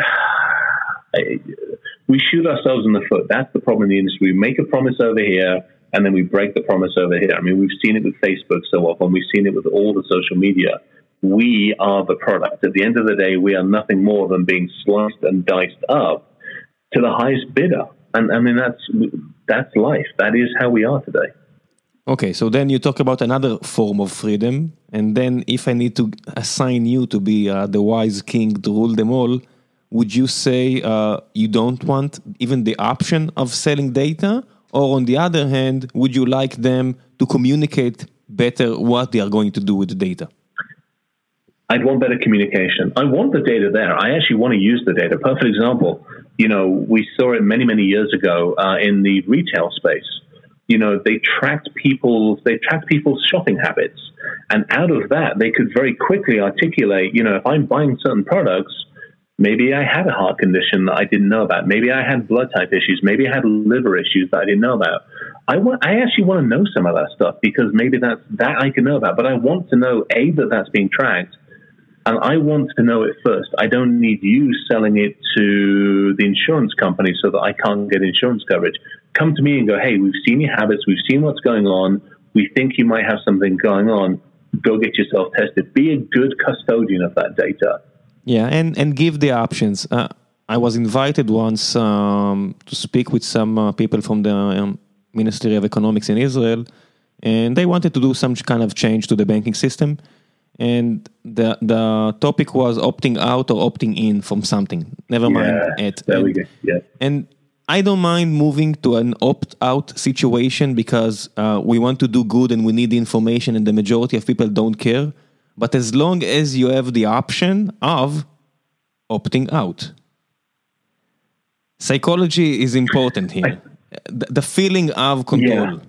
I, we shoot ourselves in the foot. That's the problem in the industry. We make a promise over here and then we break the promise over here. I mean, we've seen it with Facebook so often. We've seen it with all the social media. We are the product. At the end of the day, we are nothing more than being sliced and diced up to the highest bidder. And I mean, that's that's life. That is how we are today. Okay, so then you talk about another form of freedom. And then if I need to assign you to be uh, the wise king to rule them all, would you say uh, you don't want even the option of selling data? Or on the other hand, would you like them to communicate better what they are going to do with the data? I'd want better communication. I want the data there. I actually want to use the data. Perfect example. You know, we saw it many, many years ago uh, in the retail space. You know, they tracked people's, they tracked people's shopping habits. And out of that, they could very quickly articulate, you know, if I'm buying certain products, maybe I had a heart condition that I didn't know about. Maybe I had blood type issues. Maybe I had liver issues that I didn't know about. I want, I actually want to know some of that stuff because maybe that's, that I can know about. But I want to know, A, that that's being tracked. And I want to know it first. I don't need you selling it to the insurance company so that I can't get insurance coverage. Come to me and go, hey, we've seen your habits. We've seen what's going on. We think you might have something going on. Go get yourself tested. Be a good custodian of that data. Yeah, and, and give the options. Uh, I was invited once um, to speak with some uh, people from the um, Ministry of Economics in Israel, and they wanted to do some kind of change to the banking system. And the the topic was opting out or opting in from something. Never mind yeah, it. There and, we go. Yeah. And I don't mind moving to an opt-out situation because uh, we want to do good and we need the information and the majority of people don't care. But as long as you have the option of opting out. Psychology is important here. The, the feeling of control. Yeah.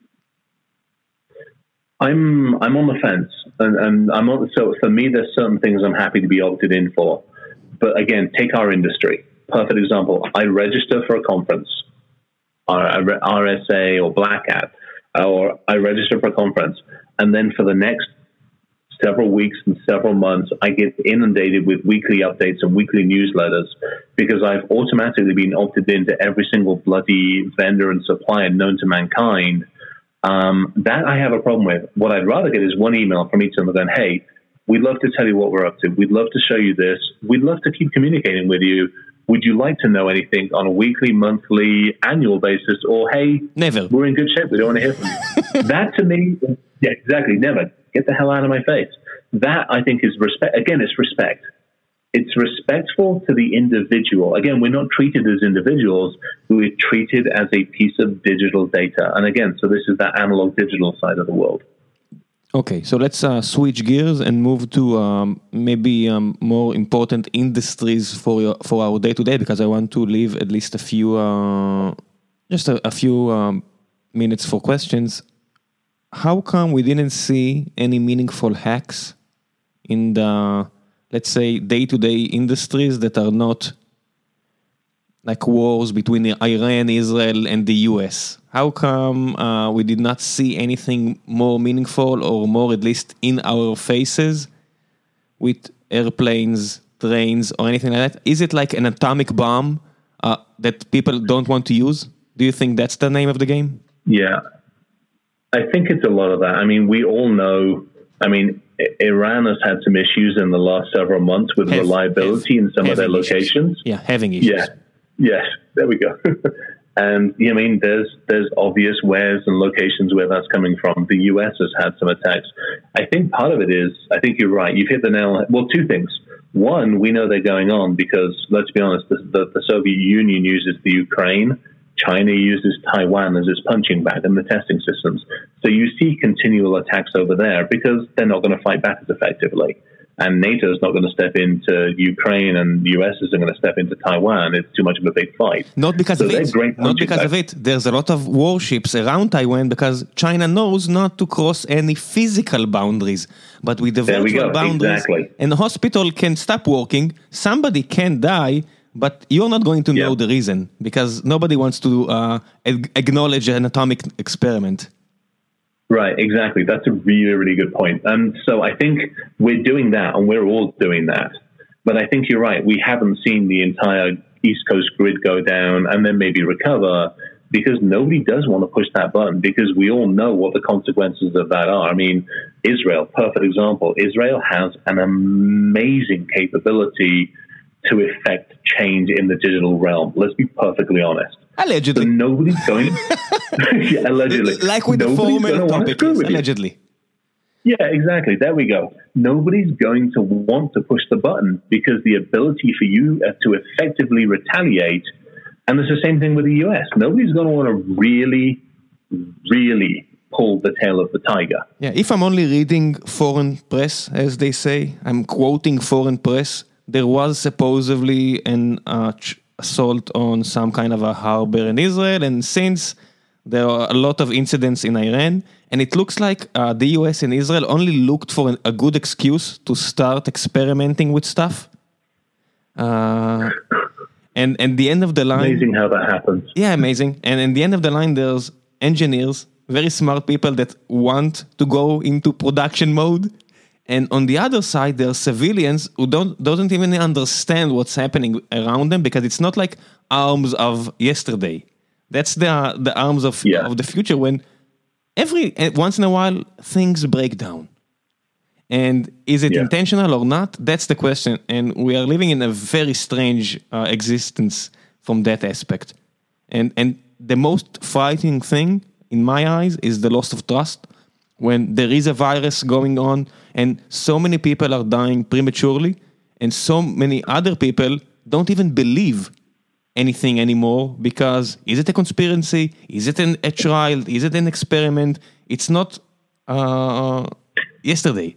I'm I'm on the fence, and, and I'm on, so for me, there's certain things I'm happy to be opted in for. But again, take our industry. Perfect example. I register for a conference, R S A or Black Hat, or I register for a conference, and then for the next several weeks and several months, I get inundated with weekly updates and weekly newsletters because I've automatically been opted into every single bloody vendor and supplier known to mankind. Um, that I have a problem with. What I'd rather get is one email from each of them going, hey, we'd love to tell you what we're up to. We'd love to show you this. We'd love to keep communicating with you. Would you like to know anything on a weekly, monthly, annual basis? Or, hey, never. We're in good shape. We don't want to hear from you. That to me, yeah, exactly, never. Get the hell out of my face. That, I think, is respect. Again, it's respect. It's respectful to the individual. Again, we're not treated as individuals. We're treated as a piece of digital data. And again, so this is that analog digital side of the world. Okay, so let's uh, switch gears and move to um, maybe um, more important industries for your, for our day to day, because I want to leave at least a few, uh, just a, a few um, minutes for questions. How come we didn't see any meaningful hacks in the, let's say, day to day industries that are not like wars between Iran, Israel, and the U S? How come uh, we did not see anything more meaningful or more at least in our faces with airplanes, trains, or anything like that? Is it like an atomic bomb uh, that people don't want to use? Do you think that's the name of the game? Yeah, I think it's a lot of that. I mean, we all know, I mean, Iran has had some issues in the last several months with have, reliability have, in some of their issues. locations. Yeah, having issues. Yeah. Yes, there we go. And I mean, there's there's obvious wheres and locations where that's coming from. The U S has had some attacks. I think part of it is, I think you're right. You've hit the nail. Well, two things. One, we know they're going on because, let's be honest, the, the, the Soviet Union uses the Ukraine. China uses Taiwan as its punching bag in the testing systems. So you see continual attacks over there because they're not going to fight back as effectively. And NATO is not going to step into Ukraine, and the U S isn't going to step into Taiwan. It's too much of a big fight. Not because so of it. Not because back. of it. There's a lot of warships around Taiwan because China knows not to cross any physical boundaries. But with the there virtual boundaries, exactly. and the hospital can stop working, somebody can die, but you're not going to know yeah. the reason because nobody wants to uh, ag- acknowledge an atomic experiment. Right, exactly. That's a really, really good point. And so I think we're doing that, and we're all doing that. But I think you're right. We haven't seen the entire East Coast grid go down and then maybe recover because nobody does want to push that button because we all know what the consequences of that are. I mean, Israel, perfect example. Israel has an amazing capability to effect change in the digital realm. Let's be perfectly honest. Allegedly. So nobody's going... yeah, allegedly. Like with nobody's the former topic, yes, allegedly. Yeah, exactly. There we go. Nobody's going to want to push the button because the ability for you to effectively retaliate, and it's the same thing with the U S. Nobody's going to want to really, really pull the tail of the tiger. Yeah, if I'm only reading foreign press, as they say, I'm quoting foreign press, there was supposedly an uh, ch- assault on some kind of a harbor in Israel, and since there are a lot of incidents in Iran, and it looks like uh, the U S and Israel only looked for an, a good excuse to start experimenting with stuff. Uh, and and the end of the line... Amazing how that happens. Yeah, amazing. And in the end of the line, there's engineers, very smart people that want to go into production mode. And on the other side, there are civilians who don't doesn't even understand what's happening around them because it's not like arms of yesterday. That's the the arms of yeah. of the future when every once in a while things break down. And is it yeah. intentional or not? That's the question. And we are living in a very strange uh, existence from that aspect. And and the most frightening thing in my eyes is the loss of trust. When there is a virus going on and so many people are dying prematurely and so many other people don't even believe anything anymore because is it a conspiracy? Is it an, a trial? Is it an experiment? It's not uh, yesterday.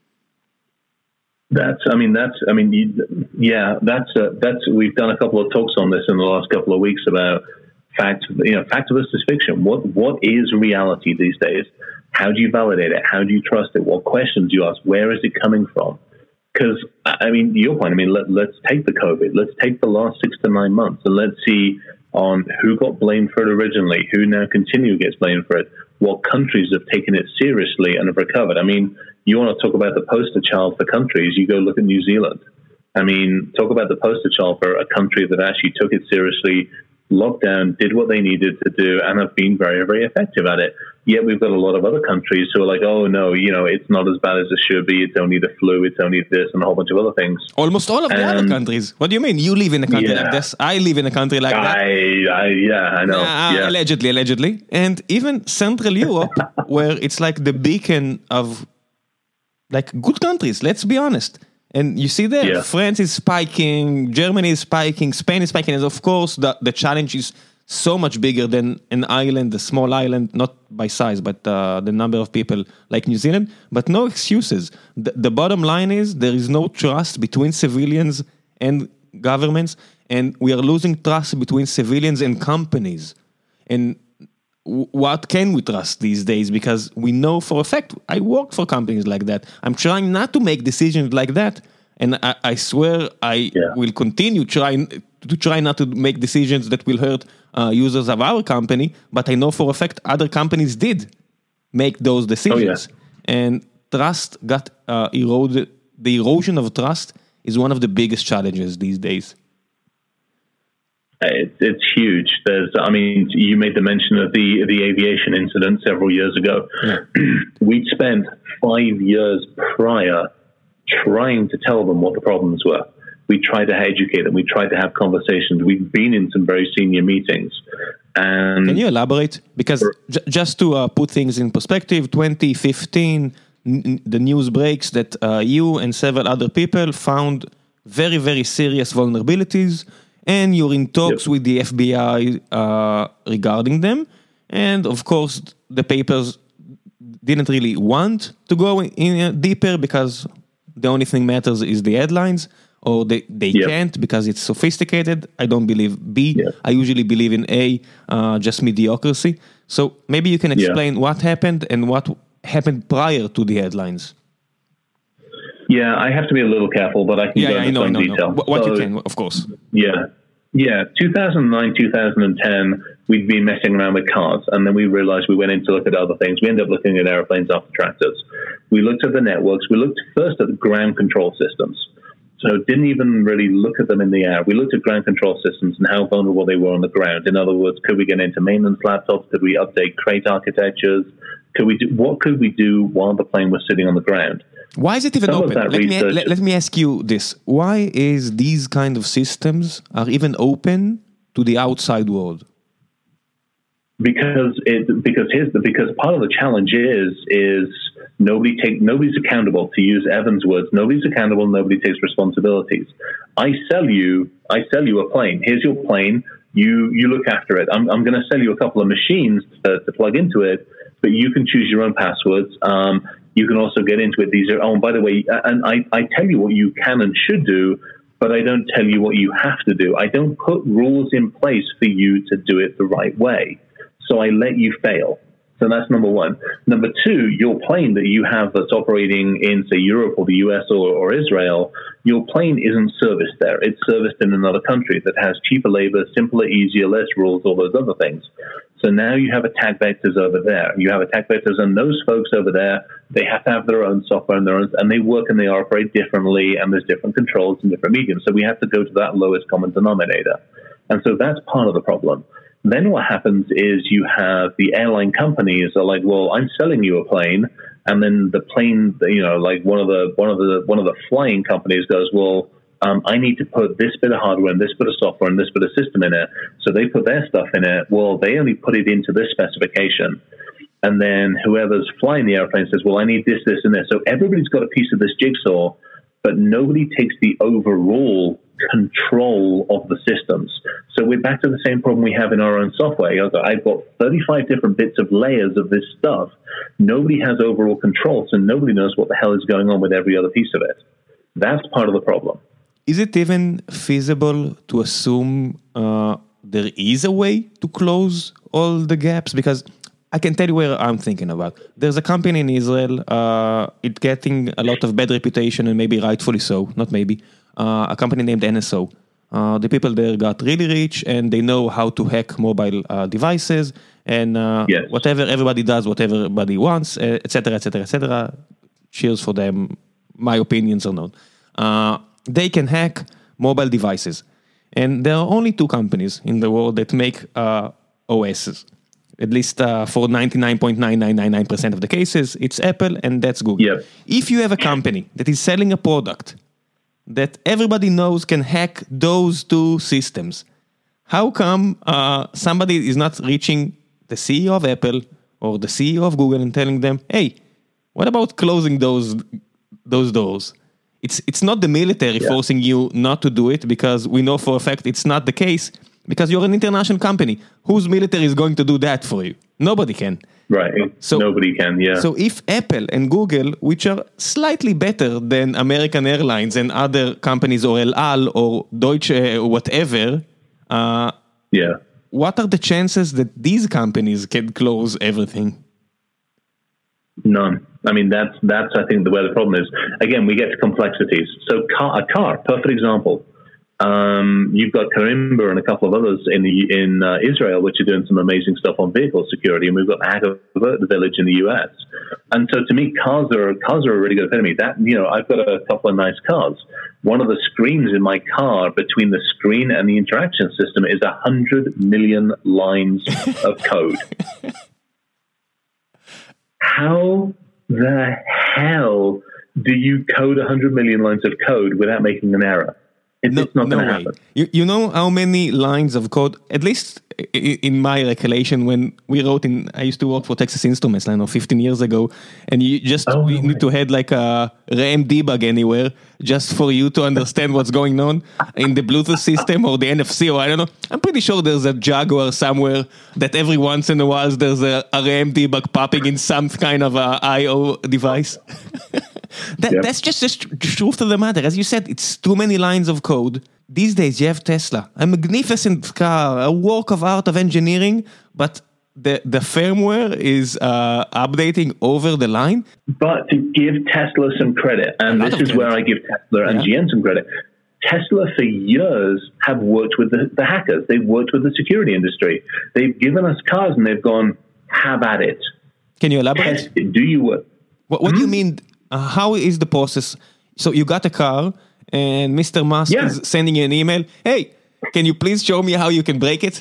That's, I mean, that's, I mean, yeah, that's, uh, that's, we've done a couple of talks on this in the last couple of weeks about fact, you know, fact versus fiction. What, what is reality these days? How do you validate it? How do you trust it? What questions do you ask? Where is it coming from? Because, I mean, your point, I mean, let, let's take the COVID. Let's take the last six to nine months and let's see on who got blamed for it originally, who now continue gets blamed for it, what countries have taken it seriously and have recovered. I mean, you want to talk about the poster child for countries, you go look at New Zealand. I mean, talk about the poster child for a country that actually took it seriously, locked down, did what they needed to do, and have been very, very effective at it. Yet we've got a lot of other countries who are like, oh, no, you know, it's not as bad as it should be. It's only the flu. It's only this and a whole bunch of other things. Almost all of the and, other countries. What do you mean? You live in a country yeah. like this. I live in a country like I, that. I, yeah, I know. Uh, yeah. Allegedly, allegedly. And even Central Europe, where it's like the beacon of like good countries, let's be honest. And you see there, yeah. France is spiking, Germany is spiking, Spain is spiking. And of course, the, the challenge is so much bigger than an island, a small island, not by size, but uh, the number of people like New Zealand, but no excuses. The, the bottom line is there is no trust between civilians and governments, and we are losing trust between civilians and companies. And w- what can we trust these days? Because we know for a fact, I work for companies like that. I'm trying not to make decisions like that. And I, I swear I Yeah. will continue trying to try not to make decisions that will hurt uh, users of our company, but I know for a fact other companies did make those decisions. Oh, yeah. And trust got uh, eroded. The erosion of trust is one of the biggest challenges these days. It's, it's huge. There's, I mean, you made the mention of the the aviation incident several years ago. Yeah. We'd spent five years prior trying to tell them what the problems were. We tried to educate them. We tried to have conversations. We've been in some very senior meetings. And can you elaborate? Because j- just to uh, put things in perspective, twenty fifteen, n- the news breaks that uh, you and several other people found very, very serious vulnerabilities, and you're in talks Yep. with the F B I uh, regarding them. And of course, the papers didn't really want to go in, in uh, deeper because the only thing matters is the headlines. Or they, they Yep. can't because it's sophisticated. I don't believe B. Yep. I usually believe in A, uh, just mediocrity. So maybe you can explain Yeah. what happened and what happened prior to the headlines. yeah, I have to be a little careful, but I can Yeah, go yeah, I into know, I some know, I detail. know. What, what So, you can, of course. Yeah. Yeah. two thousand nine, two thousand ten, we'd been messing around with cars, and then we realized we went in to look at other things. We ended up looking at airplanes after tractors. We looked at the networks. We looked first at the ground control systems. So didn't even really look at them in the air. We looked at ground control systems and how vulnerable they were on the ground. In other words, could we get into maintenance laptops? Could we update crate architectures? Could we do, what could we do while the plane was sitting on the ground? Why is it even Some of open? that Let me, research- let, let me ask you this. Why is these kind of systems are even open to the outside world? Because it because here's the because part of the challenge is is nobody take nobody's accountable, to use Evan's words. Nobody's accountable. Nobody takes responsibilities. I sell you I sell you a plane. Here's your plane. You you look after it. I'm I'm going to sell you a couple of machines to, to plug into it, but you can choose your own passwords. Um, you can also get into it. These are oh, and by the way, and I I tell you what you can and should do, but I don't tell you what you have to do. I don't put rules in place for you to do it the right way. So I let you fail. So that's number one. Number two, your plane that you have that's operating in, say, Europe or the U S or, or Israel, your plane isn't serviced there. It's serviced in another country that has cheaper labor, simpler, easier, less rules, all those other things. So now you have attack vectors over there. You have attack vectors, and those folks over there, they have to have their own software and their own, and they work and they operate differently, and there's different controls and different mediums. So we have to go to that lowest common denominator. And so that's part of the problem. Then what happens is you have the airline companies are like, well, I'm selling you a plane, and then the plane, you know, like one of the one of the one of the flying companies goes, well, um, I need to put this bit of hardware and this bit of software and this bit of system in it. So they put their stuff in it. Well, they only put it into this specification, and then whoever's flying the airplane says, well, I need this, this, and this. So everybody's got a piece of this jigsaw, but nobody takes the overall control of the systems. So we're back to the same problem we have in our own software. I've got thirty-five different bits of layers of this stuff. Nobody has overall control, so nobody knows what the hell is going on with every other piece of it. That's part of the problem. Is it even feasible to assume uh, there is a way to close all the gaps? Because I can tell you where I'm thinking about. There's a company in Israel, uh, it's getting a lot of bad reputation, and maybe rightfully so, not maybe, uh, a company named N S O. Uh, the people there got really rich, and they know how to hack mobile uh, devices, and uh, Yes. whatever everybody does, whatever everybody wants, uh, et cetera, et cetera, et cetera. Cheers for them. My opinions are known. Uh, they can hack mobile devices. And there are only two companies in the world that make uh, O Ss. At least uh, for ninety-nine point nine nine nine nine percent of the cases, it's Apple and that's Google. Yep. If you have a company that is selling a product that everybody knows can hack those two systems, how come uh, somebody is not reaching the C E O of Apple or the C E O of Google and telling them, hey, what about closing those those doors? It's it's not the military Yeah. forcing you not to do it, because we know for a fact it's not the case. because you're an international company. Whose military is going to do that for you? Nobody can. Right. So, Nobody can, yeah. So if Apple and Google, which are slightly better than American Airlines and other companies, or El Al or Deutsche or whatever, uh, yeah. what are the chances that these companies can close everything? None. I mean, that's, that's I think, the where the problem is. Again, we get to complexities. So car, a car, perfect example. Um, you've got Karimba and a couple of others in the, in uh, Israel, which are doing some amazing stuff on vehicle security, and we've got the Hacker Village in the U S. And so, to me, cars are cars are a really good fit to me. That you know, I've got a couple of nice cars. One of the screens in my car, between the screen and the interaction system, is a hundred million lines of code. How the hell do you code a hundred million lines of code without making an error? It's no, not no going to way. happen. You, you know how many lines of code, at least in my recollection, when we wrote in, I used to work for Texas Instruments, I don't know, fifteen years ago, and you just oh, we no need way. to have like a RAM debug anywhere just for you to understand what's going on in the Bluetooth system or the N F C, or I don't know. I'm pretty sure there's a Jaguar somewhere that every once in a while there's a, a RAM debug popping in some kind of a I O device. That, yep. That's just the truth of the matter. As you said, it's too many lines of code. These days, you have Tesla, a magnificent car, a work of art of engineering, but the, the firmware is uh, updating over the line. But to give Tesla some credit, and this is credit. where I give Tesla and yeah. G M some credit, Tesla for years have worked with the, the hackers. They've worked with the security industry. They've given us cars and they've gone, have at it. Can you elaborate? Test it. Do you work? What, what hmm? do you mean? Uh, how is the process? So you got a car and Mister Musk yeah. is sending you an email. Hey, can you please show me how you can break it?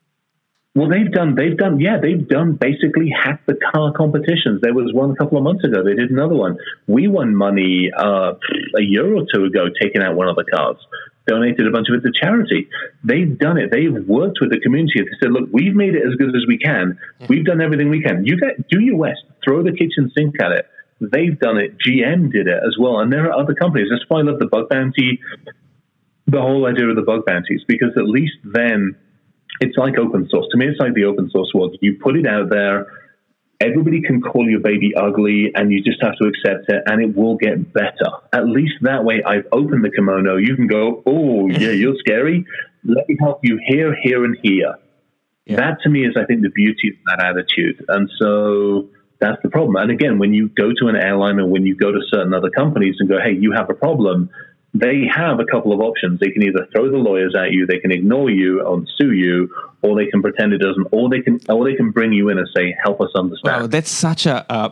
Well, they've done, they've done, yeah, they've done basically hack the car competitions. There was one a couple of months ago. They did another one. We won money uh, a year or two ago taking out one of the cars, donated a bunch of it to charity. They've done it. They've worked with the community. They said, look, we've made it as good as we can. We've done everything we can. You get, do your West, throw the kitchen sink at it. They've done it. G M did it as well. And there are other companies. That's why I love the bug bounty, the whole idea of the bug bounties, because at least then it's like open source. To me, it's like the open source world. You put it out there, everybody can call your baby ugly, and you just have to accept it, and it will get better. At least that way, I've opened the kimono. You can go, oh, yeah, you're scary. Let me help you here, here, and here. Yeah. That, to me, is, I think, the beauty of that attitude. And so that's the problem. And again, when you go to an airline or when you go to certain other companies and go, hey, you have a problem, they have a couple of options. They can either throw the lawyers at you, they can ignore you and sue you, or they can pretend it doesn't, or they can, or they can bring you in and say, help us understand. Wow, that's such a, a,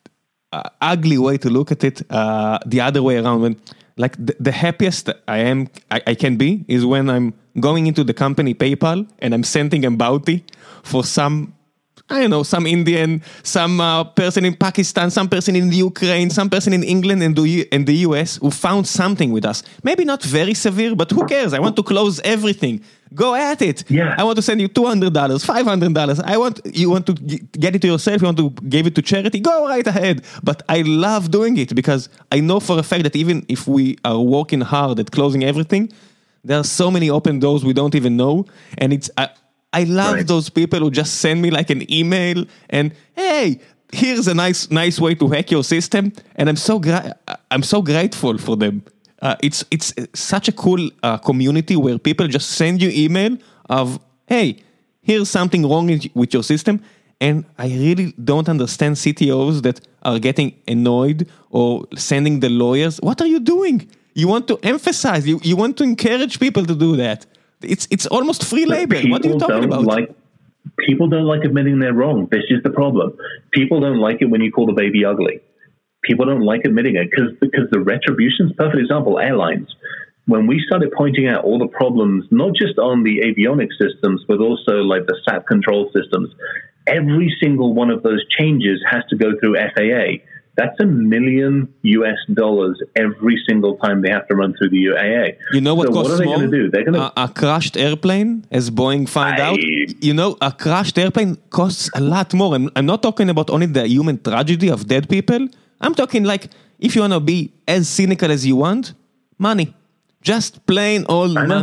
a ugly way to look at it. Uh, the other way around, when like the, the happiest I am, I, I can be, is when I'm going into the company PayPal and I'm sending a bounty for some, I don't know, some Indian, some uh, person in Pakistan, some person in Ukraine, some person in England and the, and the U S who found something with us. Maybe not very severe, but who cares? I want to close everything. Go at it. Yeah. I want to send you two hundred dollars, five hundred dollars. I want, you want to get it to yourself, you want to give it to charity, go right ahead. But I love doing it because I know for a fact that even if we are working hard at closing everything, there are so many open doors we don't even know. And it's... I, I love right. those people who just send me like an email and, hey, here's a nice nice way to hack your system. And I'm so gra- I'm so grateful for them. Uh, it's it's such a cool uh, community where people just send you email of, hey, here's something wrong with your system. And I really don't understand C T Os that are getting annoyed or sending the lawyers. What are you doing? You want to emphasize, you, you want to encourage people to do that. It's it's almost free labor. What are you talking about? Like, people don't like admitting they're wrong. This is the problem. People don't like it when you call the baby ugly. People don't like admitting it because because the retribution's perfect example. Airlines. When we started pointing out all the problems, not just on the avionics systems, but also like the S A P control systems, every single one of those changes has to go through F A A. That's a million U S dollars every single time they have to run through the U A A. You know what so costs what are they more? going to do? They're going to a, a crashed airplane, as Boeing found I... out. You know, a crashed airplane costs a lot more. I'm, I'm not talking about only the human tragedy of dead people. I'm talking like, if you want to be as cynical as you want, money. Just plain old money.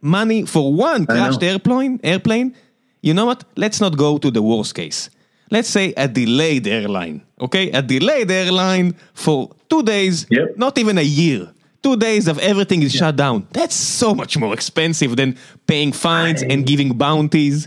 money for one crashed airplane, airplane. You know what? Let's not go to the worst case. Let's say a delayed airline, okay? A delayed airline for two days, yep. not even a year. Two days of everything is yep. shut down. That's so much more expensive than paying fines I... and giving bounties.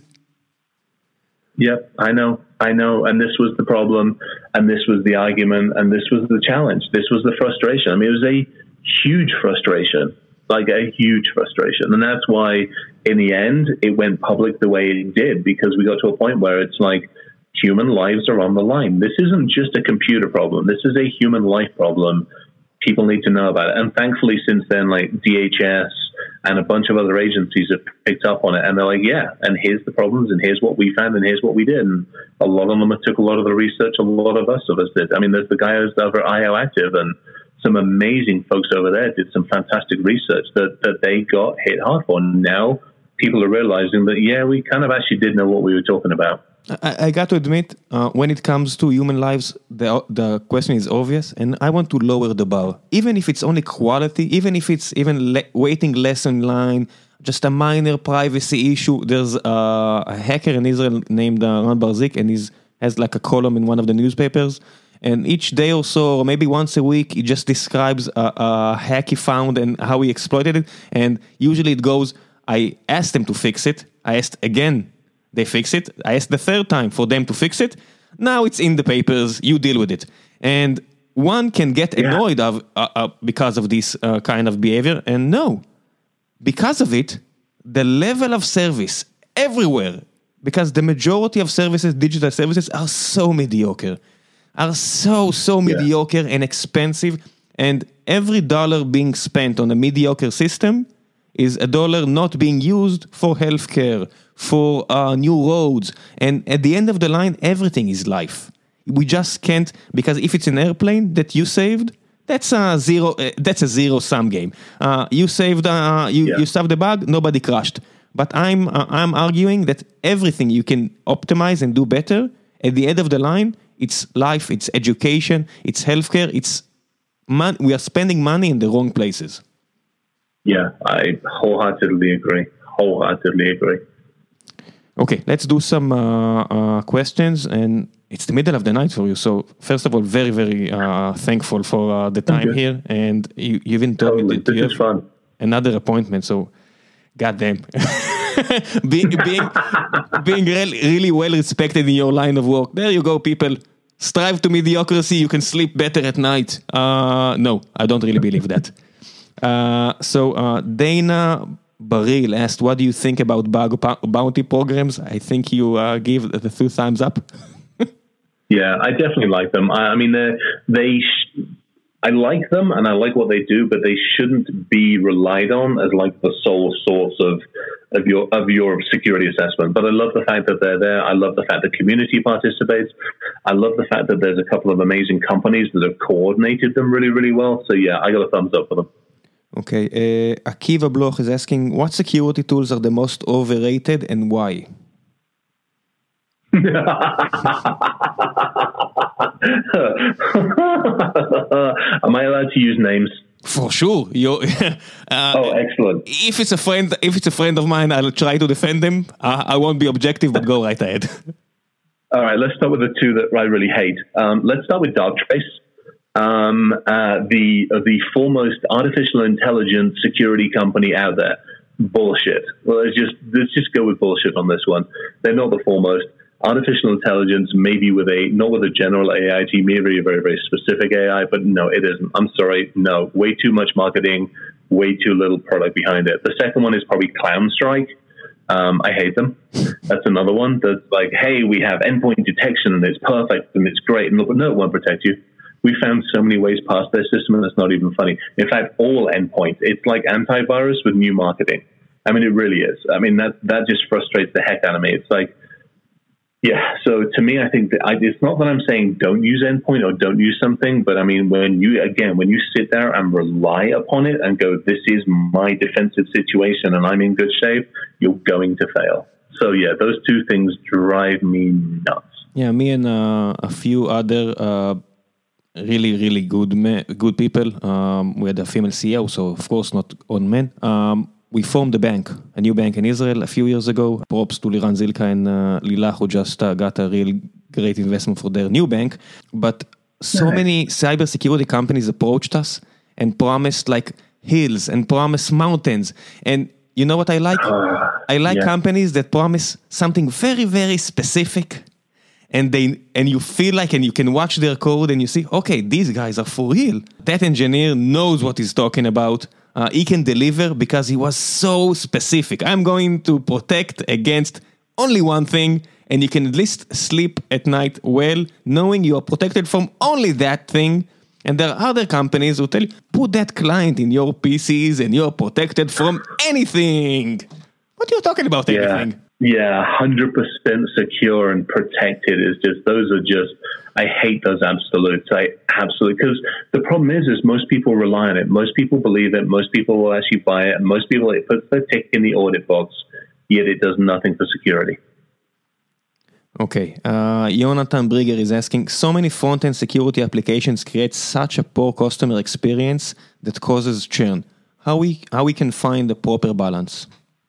Yep, I know, I know. And this was the problem, and this was the argument, and this was the challenge. This was the frustration. I mean, it was a huge frustration, like a huge frustration. And that's why, in the end, it went public the way it did, because we got to a point where it's like, human lives are on the line. This isn't just a computer problem. This is a human life problem. People need to know about it. And thankfully, since then, like D H S and a bunch of other agencies have picked up on it. And they're like, yeah, and here's the problems, and here's what we found, and here's what we did. And a lot of them took a lot of the research, a lot of us of us did. I mean, there's the guy who's over at I O Active, and some amazing folks over there did some fantastic research that, that they got hit hard for. Now people are realizing that, yeah, we kind of actually did know what we were talking about. I, I got to admit, uh, when it comes to human lives, the the question is obvious, and I want to lower the bar. Even if it's only quality, even if it's even le- waiting less in line, just a minor privacy issue. There's uh, a hacker in Israel named uh, Ran Barzik, and he has like a column in one of the newspapers. And each day or so, or maybe once a week, he just describes a, a hack he found and how he exploited it. And usually it goes, I asked them to fix it. I asked again. They fix it. I asked the third time for them to fix it. Now it's in the papers. You deal with it. And one can get annoyed yeah. of, uh, uh, because of this uh, kind of behavior. And no, because of it, the level of service everywhere, because the majority of services, digital services, are so mediocre, are so, so yeah. mediocre and expensive. And every dollar being spent on a mediocre system is a dollar not being used for healthcare, for uh, new roads. And at the end of the line, everything is life. We just can't, because if it's an airplane that you saved, that's a zero, uh, that's a zero-sum game. Uh, you saved, uh, you, yeah. you saved the bug, nobody crashed. But I'm, uh, I'm arguing that everything you can optimize and do better, at the end of the line, it's life, it's education, it's healthcare, it's man- we are spending money in the wrong places. Yeah, I wholeheartedly agree. Wholeheartedly agree. Okay, let's do some uh, uh, questions, and it's the middle of the night for you. So, first of all, very, very uh, thankful for uh, the time here, and you, you even told totally. me that this you is have fun. Another appointment. So, goddamn, being being being really, really well respected in your line of work. There you go, people. Strive to mediocrity. You can sleep better at night. Uh, no, I don't really believe that. Uh, so uh, Dana Baril asked, what do you think about bug bounty programs? I think you uh, gave the two thumbs up. Yeah, I definitely like them. I, I mean, they, sh- I like them and I like what they do, but they shouldn't be relied on as like the sole source of of your of your security assessment. But I love the fact that they're there. I love the fact that community participates. I love the fact that there's a couple of amazing companies that have coordinated them really, really well. So yeah, I got a thumbs up for them. Okay, uh, Akiva Bloch is asking, what security tools are the most overrated and why? Am I allowed to use names? For sure. You, uh, oh, excellent. If it's a friend, if it's a friend of mine, I'll try to defend him. Uh, I won't be objective, but go right ahead. All right, let's start with the two that I really hate. Um, let's start with Darktrace. Um, uh, the uh, the foremost artificial intelligence security company out there. Bullshit. Well, let's just let's just go with bullshit on this one. They're not the foremost. Artificial intelligence, maybe with a not with a general A I team, maybe a very very specific A I, but no, it isn't. I'm sorry, no. Way too much marketing, way too little product behind it. The second one is probably CloudStrike. Um, I hate them. That's another one that's like, hey, we have endpoint detection and it's perfect and it's great, and look, no, it won't protect you. We found so many ways past their system, and it's not even funny. In fact, all endpoints, it's like antivirus with new marketing. I mean, it really is. I mean, that that just frustrates the heck out of me. It's like, yeah. So to me, I think that I, it's not that I'm saying don't use endpoint or don't use something, but I mean, when you, again, when you sit there and rely upon it and go, this is my defensive situation and I'm in good shape, you're going to fail. So yeah, those two things drive me nuts. Yeah, me and uh, a few other uh, really, really good me- good people. Um, we had a female C E O, so of course not all men. Um, we formed a bank, a new bank in Israel a few years ago. Props to Liran Zilka and uh, Lila, who just uh, got a real great investment for their new bank. But so nice. Many cybersecurity companies approached us and promised like hills and promised mountains. And you know what I like? Uh, I like yeah. companies that promise something very, very specific. And they and you feel like, and you can watch their code and you see, okay, these guys are for real. That engineer knows what he's talking about. Uh, he can deliver because he was so specific. I'm going to protect against only one thing, and you can at least sleep at night well, knowing you are protected from only that thing. And there are other companies who tell you, put that client in your P Cs and you're protected from anything. What are you talking about, yeah. anything? Yeah, one hundred percent secure and protected is just, those are just, I hate those absolutes. I absolutely, because the problem is, is most people rely on it. Most people believe it. Most people will actually buy it. And most people, it puts their tick in the audit box, yet it does nothing for security. Okay, uh, Jonathan Brigger is asking, so many front-end security applications create such a poor customer experience that causes churn. How we, how we can find the proper balance?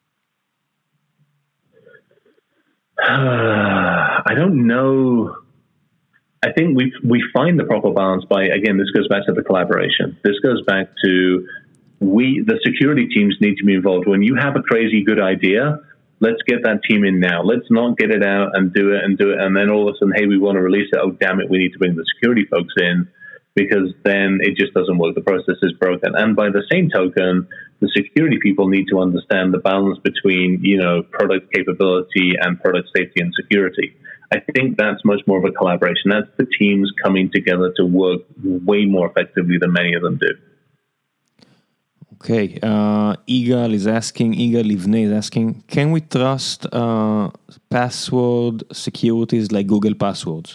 Uh, I don't know. I think we we find the proper balance by, again, this goes back to the collaboration. This goes back to we, the security teams need to be involved. When you have a crazy good idea, let's get that team in now. Let's not get it out and do it and do it. And then all of a sudden, hey, we want to release it. Oh, damn it. We need to bring the security folks in, because then it just doesn't work. The process is broken. And by the same token, the security people need to understand the balance between, you know, product capability and product safety and security. I think that's much more of a collaboration. That's the teams coming together to work way more effectively than many of them do. Okay. Uh, Igal is asking, Igal Livne is asking, can we trust uh, password securities like Google passwords?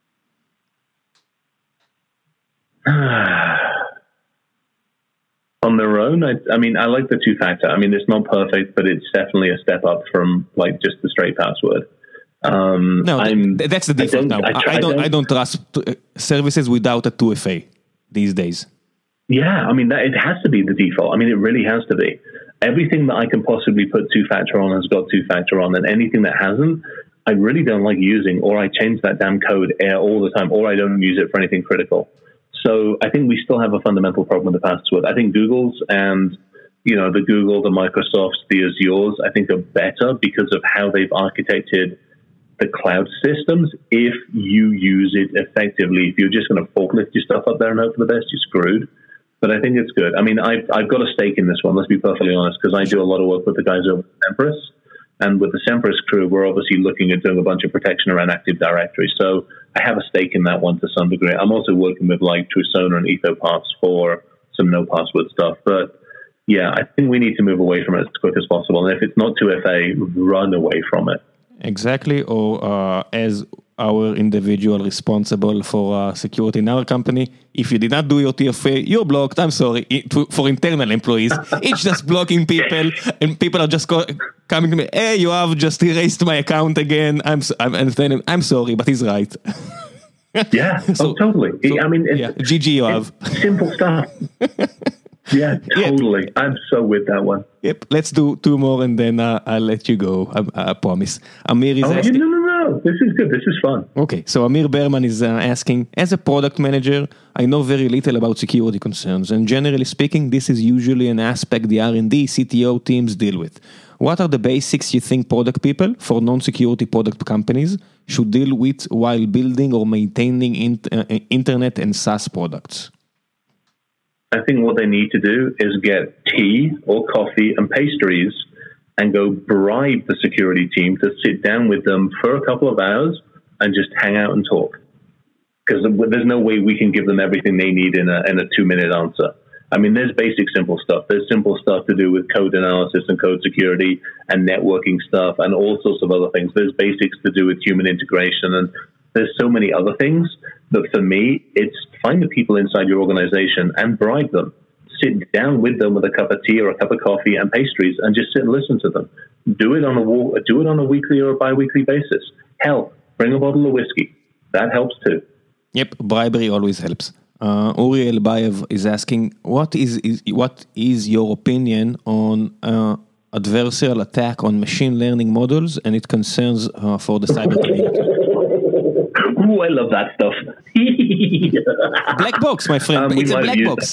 On their own, I, I mean, I like the two-factor. I mean, it's not perfect, but it's definitely a step up from like just the straight password. Um, no, I'm, that's the default now. I, I, I, don't, I don't trust services without a two F A these days. Yeah, I mean, that, it has to be the default. I mean, it really has to be. Everything that I can possibly put two-factor on has got two-factor on, and anything that hasn't, I really don't like using, or I change that damn code all the time, or I don't use it for anything critical. So I think we still have a fundamental problem with the password. I think Google's and, you know, the Google, the Microsofts, the Azures, I think are better because of how they've architected the cloud systems. If you use it effectively, if you're just going to forklift your stuff up there and hope for the best, you're screwed. But I think it's good. I mean, I've, I've got a stake in this one, let's be perfectly honest, because I do a lot of work with the guys over at Semperis. And with the Semperis crew, we're obviously looking at doing a bunch of protection around Active Directory. So I have a stake in that one to some degree. I'm also working with like Trusona and EthoPass for some no password stuff. But yeah, I think we need to move away from it as quick as possible. And if it's not two F A, run away from it. Exactly. Or uh, as our individual responsible for uh, security in our company, if you did not do your T F A, you're blocked. I'm sorry. It, to, for internal employees, it's just blocking people, and people are just co- coming to me, hey, you have just erased my account again. I'm I'm, I'm, I'm sorry, but he's right. Yeah, so, oh, totally. So, I mean, it's, yeah, G G, you have. Simple stuff. Yeah, totally. Yep. I'm so with that one. Yep, let's do two more and then uh, I'll let you go. I, I promise. Amir is oh, asking. No, no, no. This is good. This is fun. Okay, so Amir Berman is uh, asking, as a product manager, I know very little about security concerns, and generally speaking, this is usually an aspect the R and D, C T O teams deal with. What are the basics you think product people for non-security product companies should deal with while building or maintaining in, uh, internet and SaaS products? I think what they need to do is get tea or coffee and pastries and go bribe the security team to sit down with them for a couple of hours and just hang out and talk. Because there's no way we can give them everything they need in a, in a two-minute answer. I mean, there's basic simple stuff. There's simple stuff to do with code analysis and code security and networking stuff and all sorts of other things. There's basics to do with human integration, and there's so many other things that for me, it's find the people inside your organization and bribe them. Sit down with them with a cup of tea or a cup of coffee and pastries and just sit and listen to them. Do it on a do it on a weekly or a bi-weekly basis. Hell, bring a bottle of whiskey. That helps too. Yep, bribery always helps. Uh, Uri Elbayev is asking, what is, is what is your opinion on uh, adversarial attack on machine learning models and it concerns uh, for the cyber community? Ooh, I love that stuff. Black box, my friend. Um, it's a black box.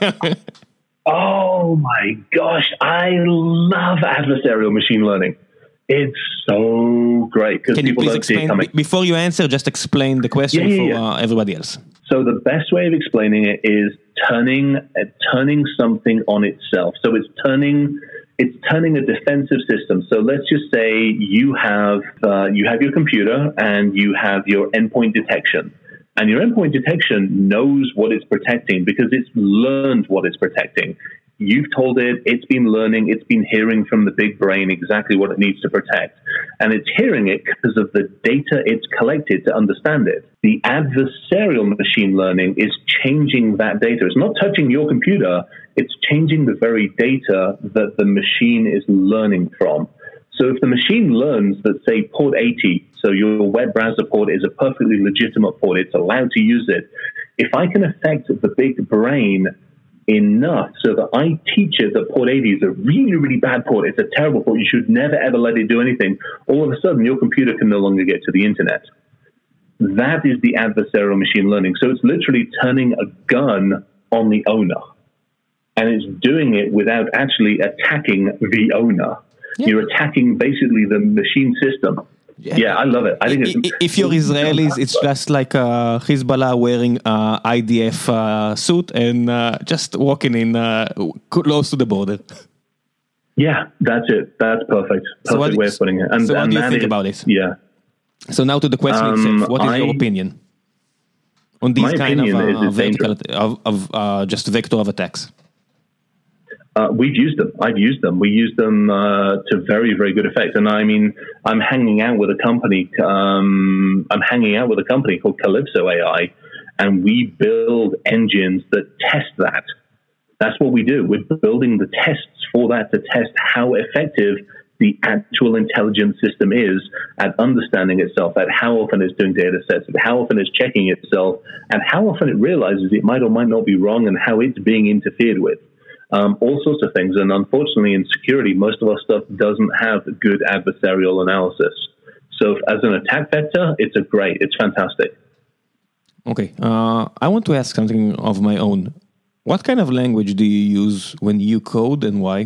Oh my gosh, I love adversarial machine learning. It's so great because people don't explain, see it coming. Before you answer, just explain the question yeah, yeah, yeah. for uh, everybody else. So the best way of explaining it is turning uh, turning something on itself. So it's turning it's turning a defensive system. So let's just say you have uh, you have your computer and you have your endpoint detection. And your endpoint detection knows what it's protecting because it's learned what it's protecting. You've told it, it's been learning, it's been hearing from the big brain exactly what it needs to protect. And it's hearing it because of the data it's collected to understand it. The adversarial machine learning is changing that data. It's not touching your computer, it's changing the very data that the machine is learning from. So if the machine learns that, say, port eighty, so your web browser port is a perfectly legitimate port, it's allowed to use it. If I can affect the big brain enough so that I teach it that port eighty is a really, really bad port, it's a terrible port, you should never ever let it do anything, all of a sudden your computer can no longer get to the internet. That is the adversarial machine learning. So it's literally turning a gun on the owner. And it's doing it without actually attacking the owner. Yeah. You're attacking basically the machine system. Yeah, yeah I love it. I think it's, if you're Israelis, it's just like uh, Hezbollah wearing uh, I D F uh, suit and uh, just walking in uh, close to the border. Yeah, that's it. That's perfect. Perfect so what, way of putting it. And, so what and do you think is, about it? Yeah. So now to the question um, itself. What is I, your opinion on these kind of, uh, vertical, of, of uh, just vector of attacks? Uh, we've used them. I've used them. We use them uh, to very, very good effect. And I mean, I'm hanging out with a company. Um, I'm hanging out with a company called Calypso A I, and we build engines that test that. That's what we do. We're building the tests for that to test how effective the actual intelligence system is at understanding itself, at how often it's doing data sets, at how often it's checking itself, and how often it realizes it might or might not be wrong, and how it's being interfered with. Um, all sorts of things. And unfortunately, in security, most of our stuff doesn't have good adversarial analysis. So as an attack vector, it's a great, it's fantastic. Okay. Uh, I want to ask something of my own. What kind of language do you use when you code and why?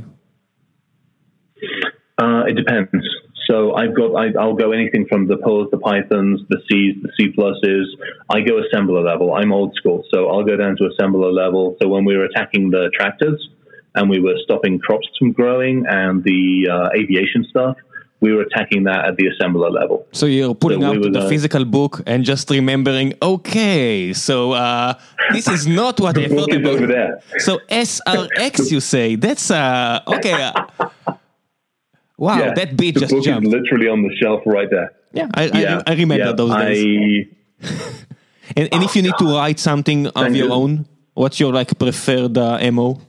Uh, it depends. So I've got, I, I'll go anything from the Perls, the Pythons, the Cs, the C pluses. I go assembler level. I'm old school. So I'll go down to assembler level. So when we were attacking the tractors and we were stopping crops from growing and the uh, aviation stuff, we were attacking that at the assembler level. So you're pulling so out we the uh, physical book and just remembering, okay, so uh, this is not what I thought it was. Over there. So S R X, you say, that's, uh, okay. Uh, wow, yeah, that beat just jumped. The book is literally on the shelf right there. Yeah, I, yeah, I, I remember yeah, those days. I, and, and if you need to write something of your you. own, what's your like preferred uh, M O?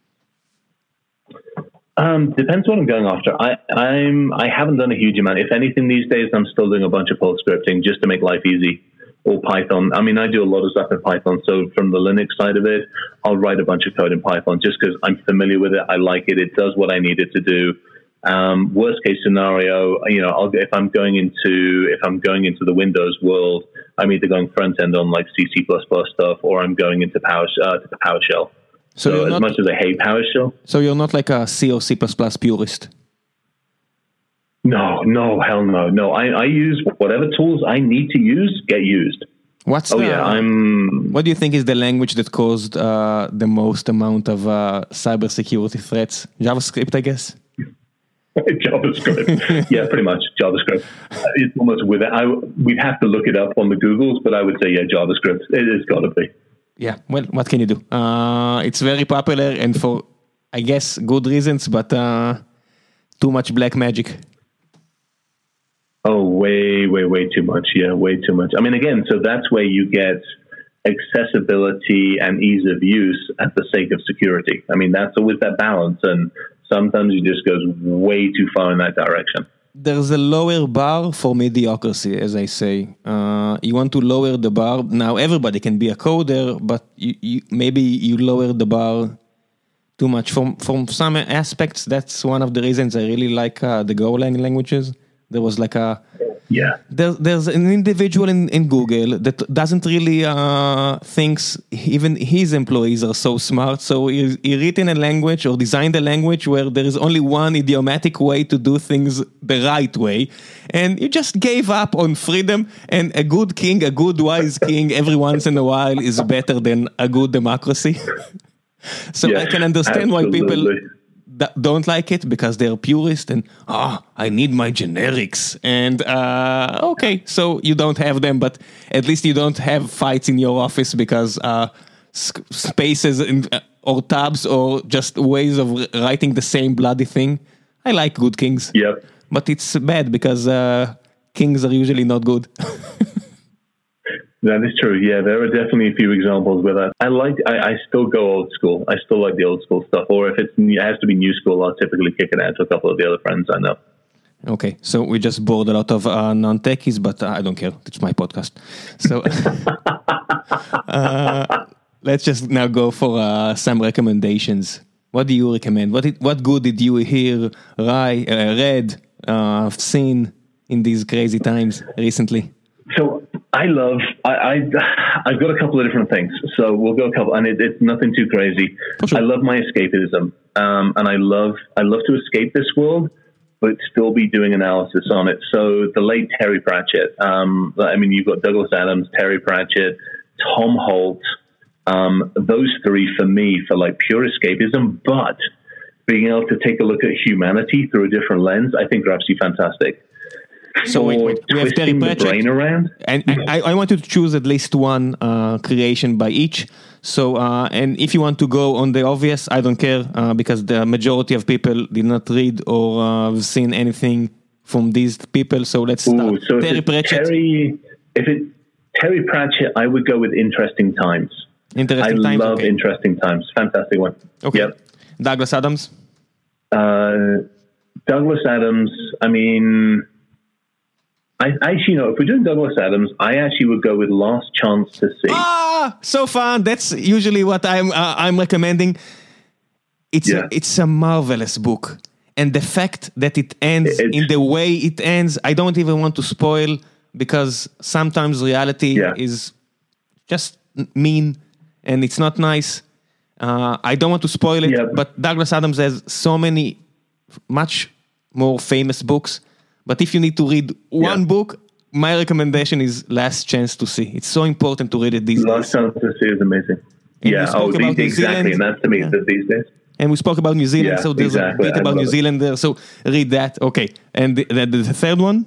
Um, depends what I'm going after. I, I'm, I haven't done a huge amount. If anything these days, I'm still doing a bunch of Perl scripting just to make life easy. Or Python. I mean, I do a lot of stuff in Python. So from the Linux side of it, I'll write a bunch of code in Python just because I'm familiar with it. I like it. It does what I need it to do. Um, worst case scenario, you know, I'll, if I'm going into if I'm going into the Windows world, I'm either going front end on like C, C plus plus stuff, or I'm going into Power uh, to PowerShell. So, so as not, much as I hate PowerShell, so you're not like a C or C plus plus purist. No, no, hell no, no. I, I use whatever tools I need to use get used. What's oh the, yeah, I'm. What do you think is the language that caused uh, the most amount of uh, cybersecurity threats? JavaScript, I guess. JavaScript, yeah, pretty much JavaScript. It's almost with it. I we'd have to look it up on the Googles, but I would say yeah, JavaScript. It has got to be. Yeah, well, what can you do? Uh, it's very popular and for, I guess, good reasons, but uh, too much black magic. Oh, way, way, way too much. Yeah, way too much. I mean, again, so that's where you get accessibility and ease of use at the sake of security. I mean, that's always that balance, and sometimes it just goes way too far in that direction. there's a lower bar for mediocrity, as I say. Uh, you want to lower the bar. Now, everybody can be a coder, but you, you, maybe you lower the bar too much. From from some aspects, that's one of the reasons I really like uh, the Golang languages. There was like a... Yeah. There, there's an individual in, in Google that doesn't really uh, thinks even his employees are so smart. So he, he written a language or designed a language where there is only one idiomatic way to do things the right way. And he just gave up on freedom. And a good king, a good wise king every once in a while is better than a good democracy. So yeah, I can understand absolutely. why people... don't like it because they're purist and ah, oh, I need my generics and uh, okay, so you don't have them, but at least you don't have fights in your office because uh, sc- spaces in, uh, or tabs or just ways of writing the same bloody thing. I like good kings, yep. but it's bad because uh, kings are usually not good. That is true. Yeah, there are definitely a few examples where that. I like. I, I still go old school. I still like the old school stuff. Or if it's, it has to be new school, I'll typically kick it out to a couple of the other friends I know. Okay, so we just bored a lot of uh, non-techies, but uh, I don't care. It's my podcast. So uh, let's just now go for uh, some recommendations. What do you recommend? What did, what good did you hear, ri- uh, read, uh, seen in these crazy times recently? So I love, I, I, I've got a couple of different things. So we'll go a couple, and it, it's nothing too crazy. Sure. I love my escapism, um, and I love, I love to escape this world, but still be doing analysis on it. So the late Terry Pratchett, um, I mean, you've got Douglas Adams, Terry Pratchett, Tom Holt, um, those three for me for like pure escapism, but being able to take a look at humanity through a different lens, I think are absolutely fantastic. So wait, wait. We have Terry Pratchett, around. and I, I want to choose at least one uh, creation by each. So, uh, and if you want to go on the obvious, I don't care uh, because the majority of people did not read or uh, have seen anything from these people. So let's start. Ooh, so Terry Pratchett. Terry, if it Terry Pratchett, I would go with Interesting Times. Interesting I Times. I love okay. Interesting Times. Fantastic one. Okay. Yep. Douglas Adams. Uh, Douglas Adams. I mean. I actually, you know, if we're doing Douglas Adams, I actually would go with Last Chance to See. Ah, so fun. That's usually what I'm uh, I'm recommending. It's yeah. a, it's a marvelous book, and the fact that it ends it's, in the way it ends, I don't even want to spoil because sometimes reality yeah. is just mean and it's not nice. Uh, I don't want to spoil it, yeah. but Douglas Adams has so many much more famous books. But if you need to read one yeah. book, my recommendation is Last Chance to See. It's so important to read it these Last days. Last Chance to See is amazing. And yeah, oh, these, exactly. And that's to me yeah. these days. And we spoke about New Zealand, yeah, so there's exactly. a bit about New it. Zealand there. So read that. Okay. And the, the, the third one?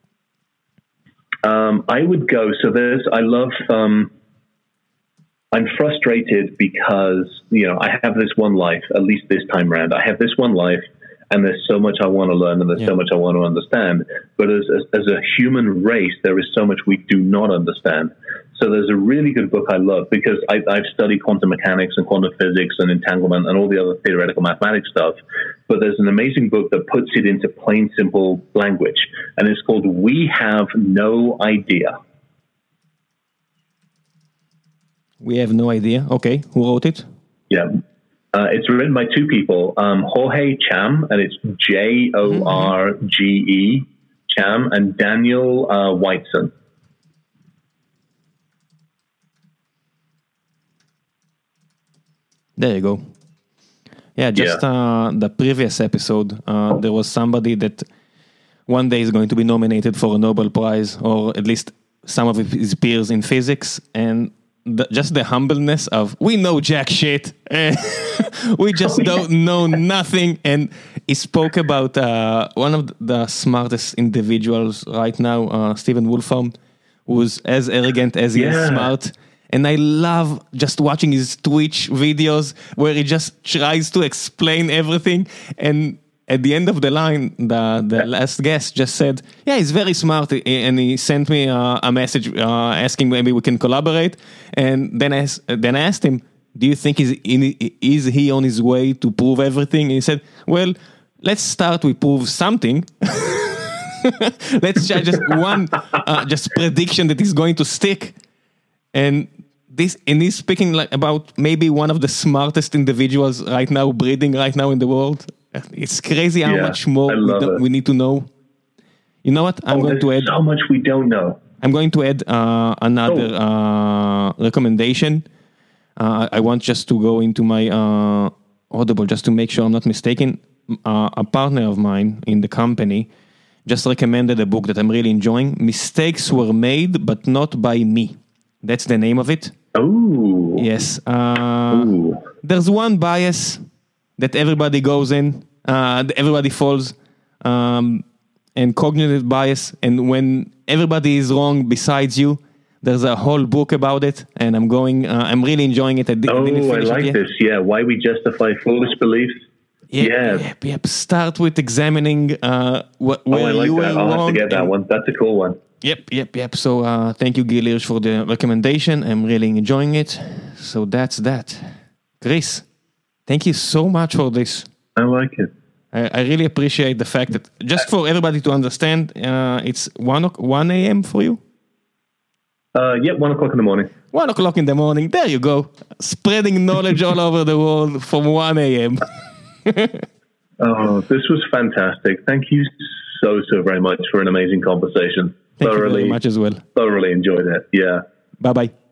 Um, I would go. So there's, I love, um, I'm frustrated because, you know, I have this one life, at least this time around. I have this one life. And there's so much I want to learn and there's yeah. so much I want to understand. But as, as as a human race, there is so much we do not understand. So there's a really good book I love because I, I've studied quantum mechanics and quantum physics and entanglement and all the other theoretical mathematics stuff. But there's an amazing book that puts it into plain, simple language. And it's called We Have No Idea. We Have No Idea. Okay. Who wrote it? Yeah. Uh, it's written by two people, um, Jorge Cham, and it's J O R G E, Cham, and Daniel uh, Whiteson. There you go. Yeah, just yeah. Uh, the previous episode, uh, there was somebody that one day is going to be nominated for a Nobel Prize, or at least some of his peers in physics, and The, just the humbleness of we know jack shit and we just don't know nothing. And he spoke about uh, one of the smartest individuals right now, uh, Stephen Wolfram, who's as arrogant as he yeah. is smart. And I love just watching his Twitch videos where he just tries to explain everything. And at the end of the line, the, the last guest just said, yeah, he's very smart. And he sent me uh, a message uh, asking maybe we can collaborate. And then I, then I asked him, do you think he's in, is he on his way to prove everything? And he said, well, let's start with prove something. Let's try just one uh, just prediction that is going to stick. And this, and he's speaking like about maybe one of the smartest individuals right now, breathing right now in the world. It's crazy how Yeah, much more I we, love don't- it. we need to know. You know what? I'm Oh, going to there's add. so much we don't know. I'm going to add uh, another Oh. uh, recommendation. Uh, I want just to go into my uh, Audible just to make sure I'm not mistaken. Uh, a partner of mine in the company just recommended a book that I'm really enjoying. Mistakes Were Made, but Not by Me. That's the name of it. Oh. Yes. Uh, Ooh. there's one bias that everybody goes in, uh, everybody falls, um, and cognitive bias. And when everybody is wrong besides you, there's a whole book about it. And I'm going, uh, I'm really enjoying it. I di- Oh, didn't I finish it like yet. this. Yeah. Why we justify foolish beliefs. Yep, Yeah. yep, yep. Start with examining uh, wh- Oh, where I like you were that. I'll have wrong. to get that and- one. That's a cool one. Yep, yep, yep. So uh, thank you, Gil Hirsch, for the recommendation. I'm really enjoying it. So that's that. Chris, thank you so much for this. I like it. I, I really appreciate the fact that, just for everybody to understand, uh, it's one, o- one a.m. for you? Uh, yep, one o'clock in the morning. One o'clock in the morning. There you go. Spreading knowledge all over the world from one a.m. Oh, this was fantastic. Thank you so, so very much for an amazing conversation. Thank thoroughly, you very much as well. thoroughly enjoyed it. Yeah. Bye-bye.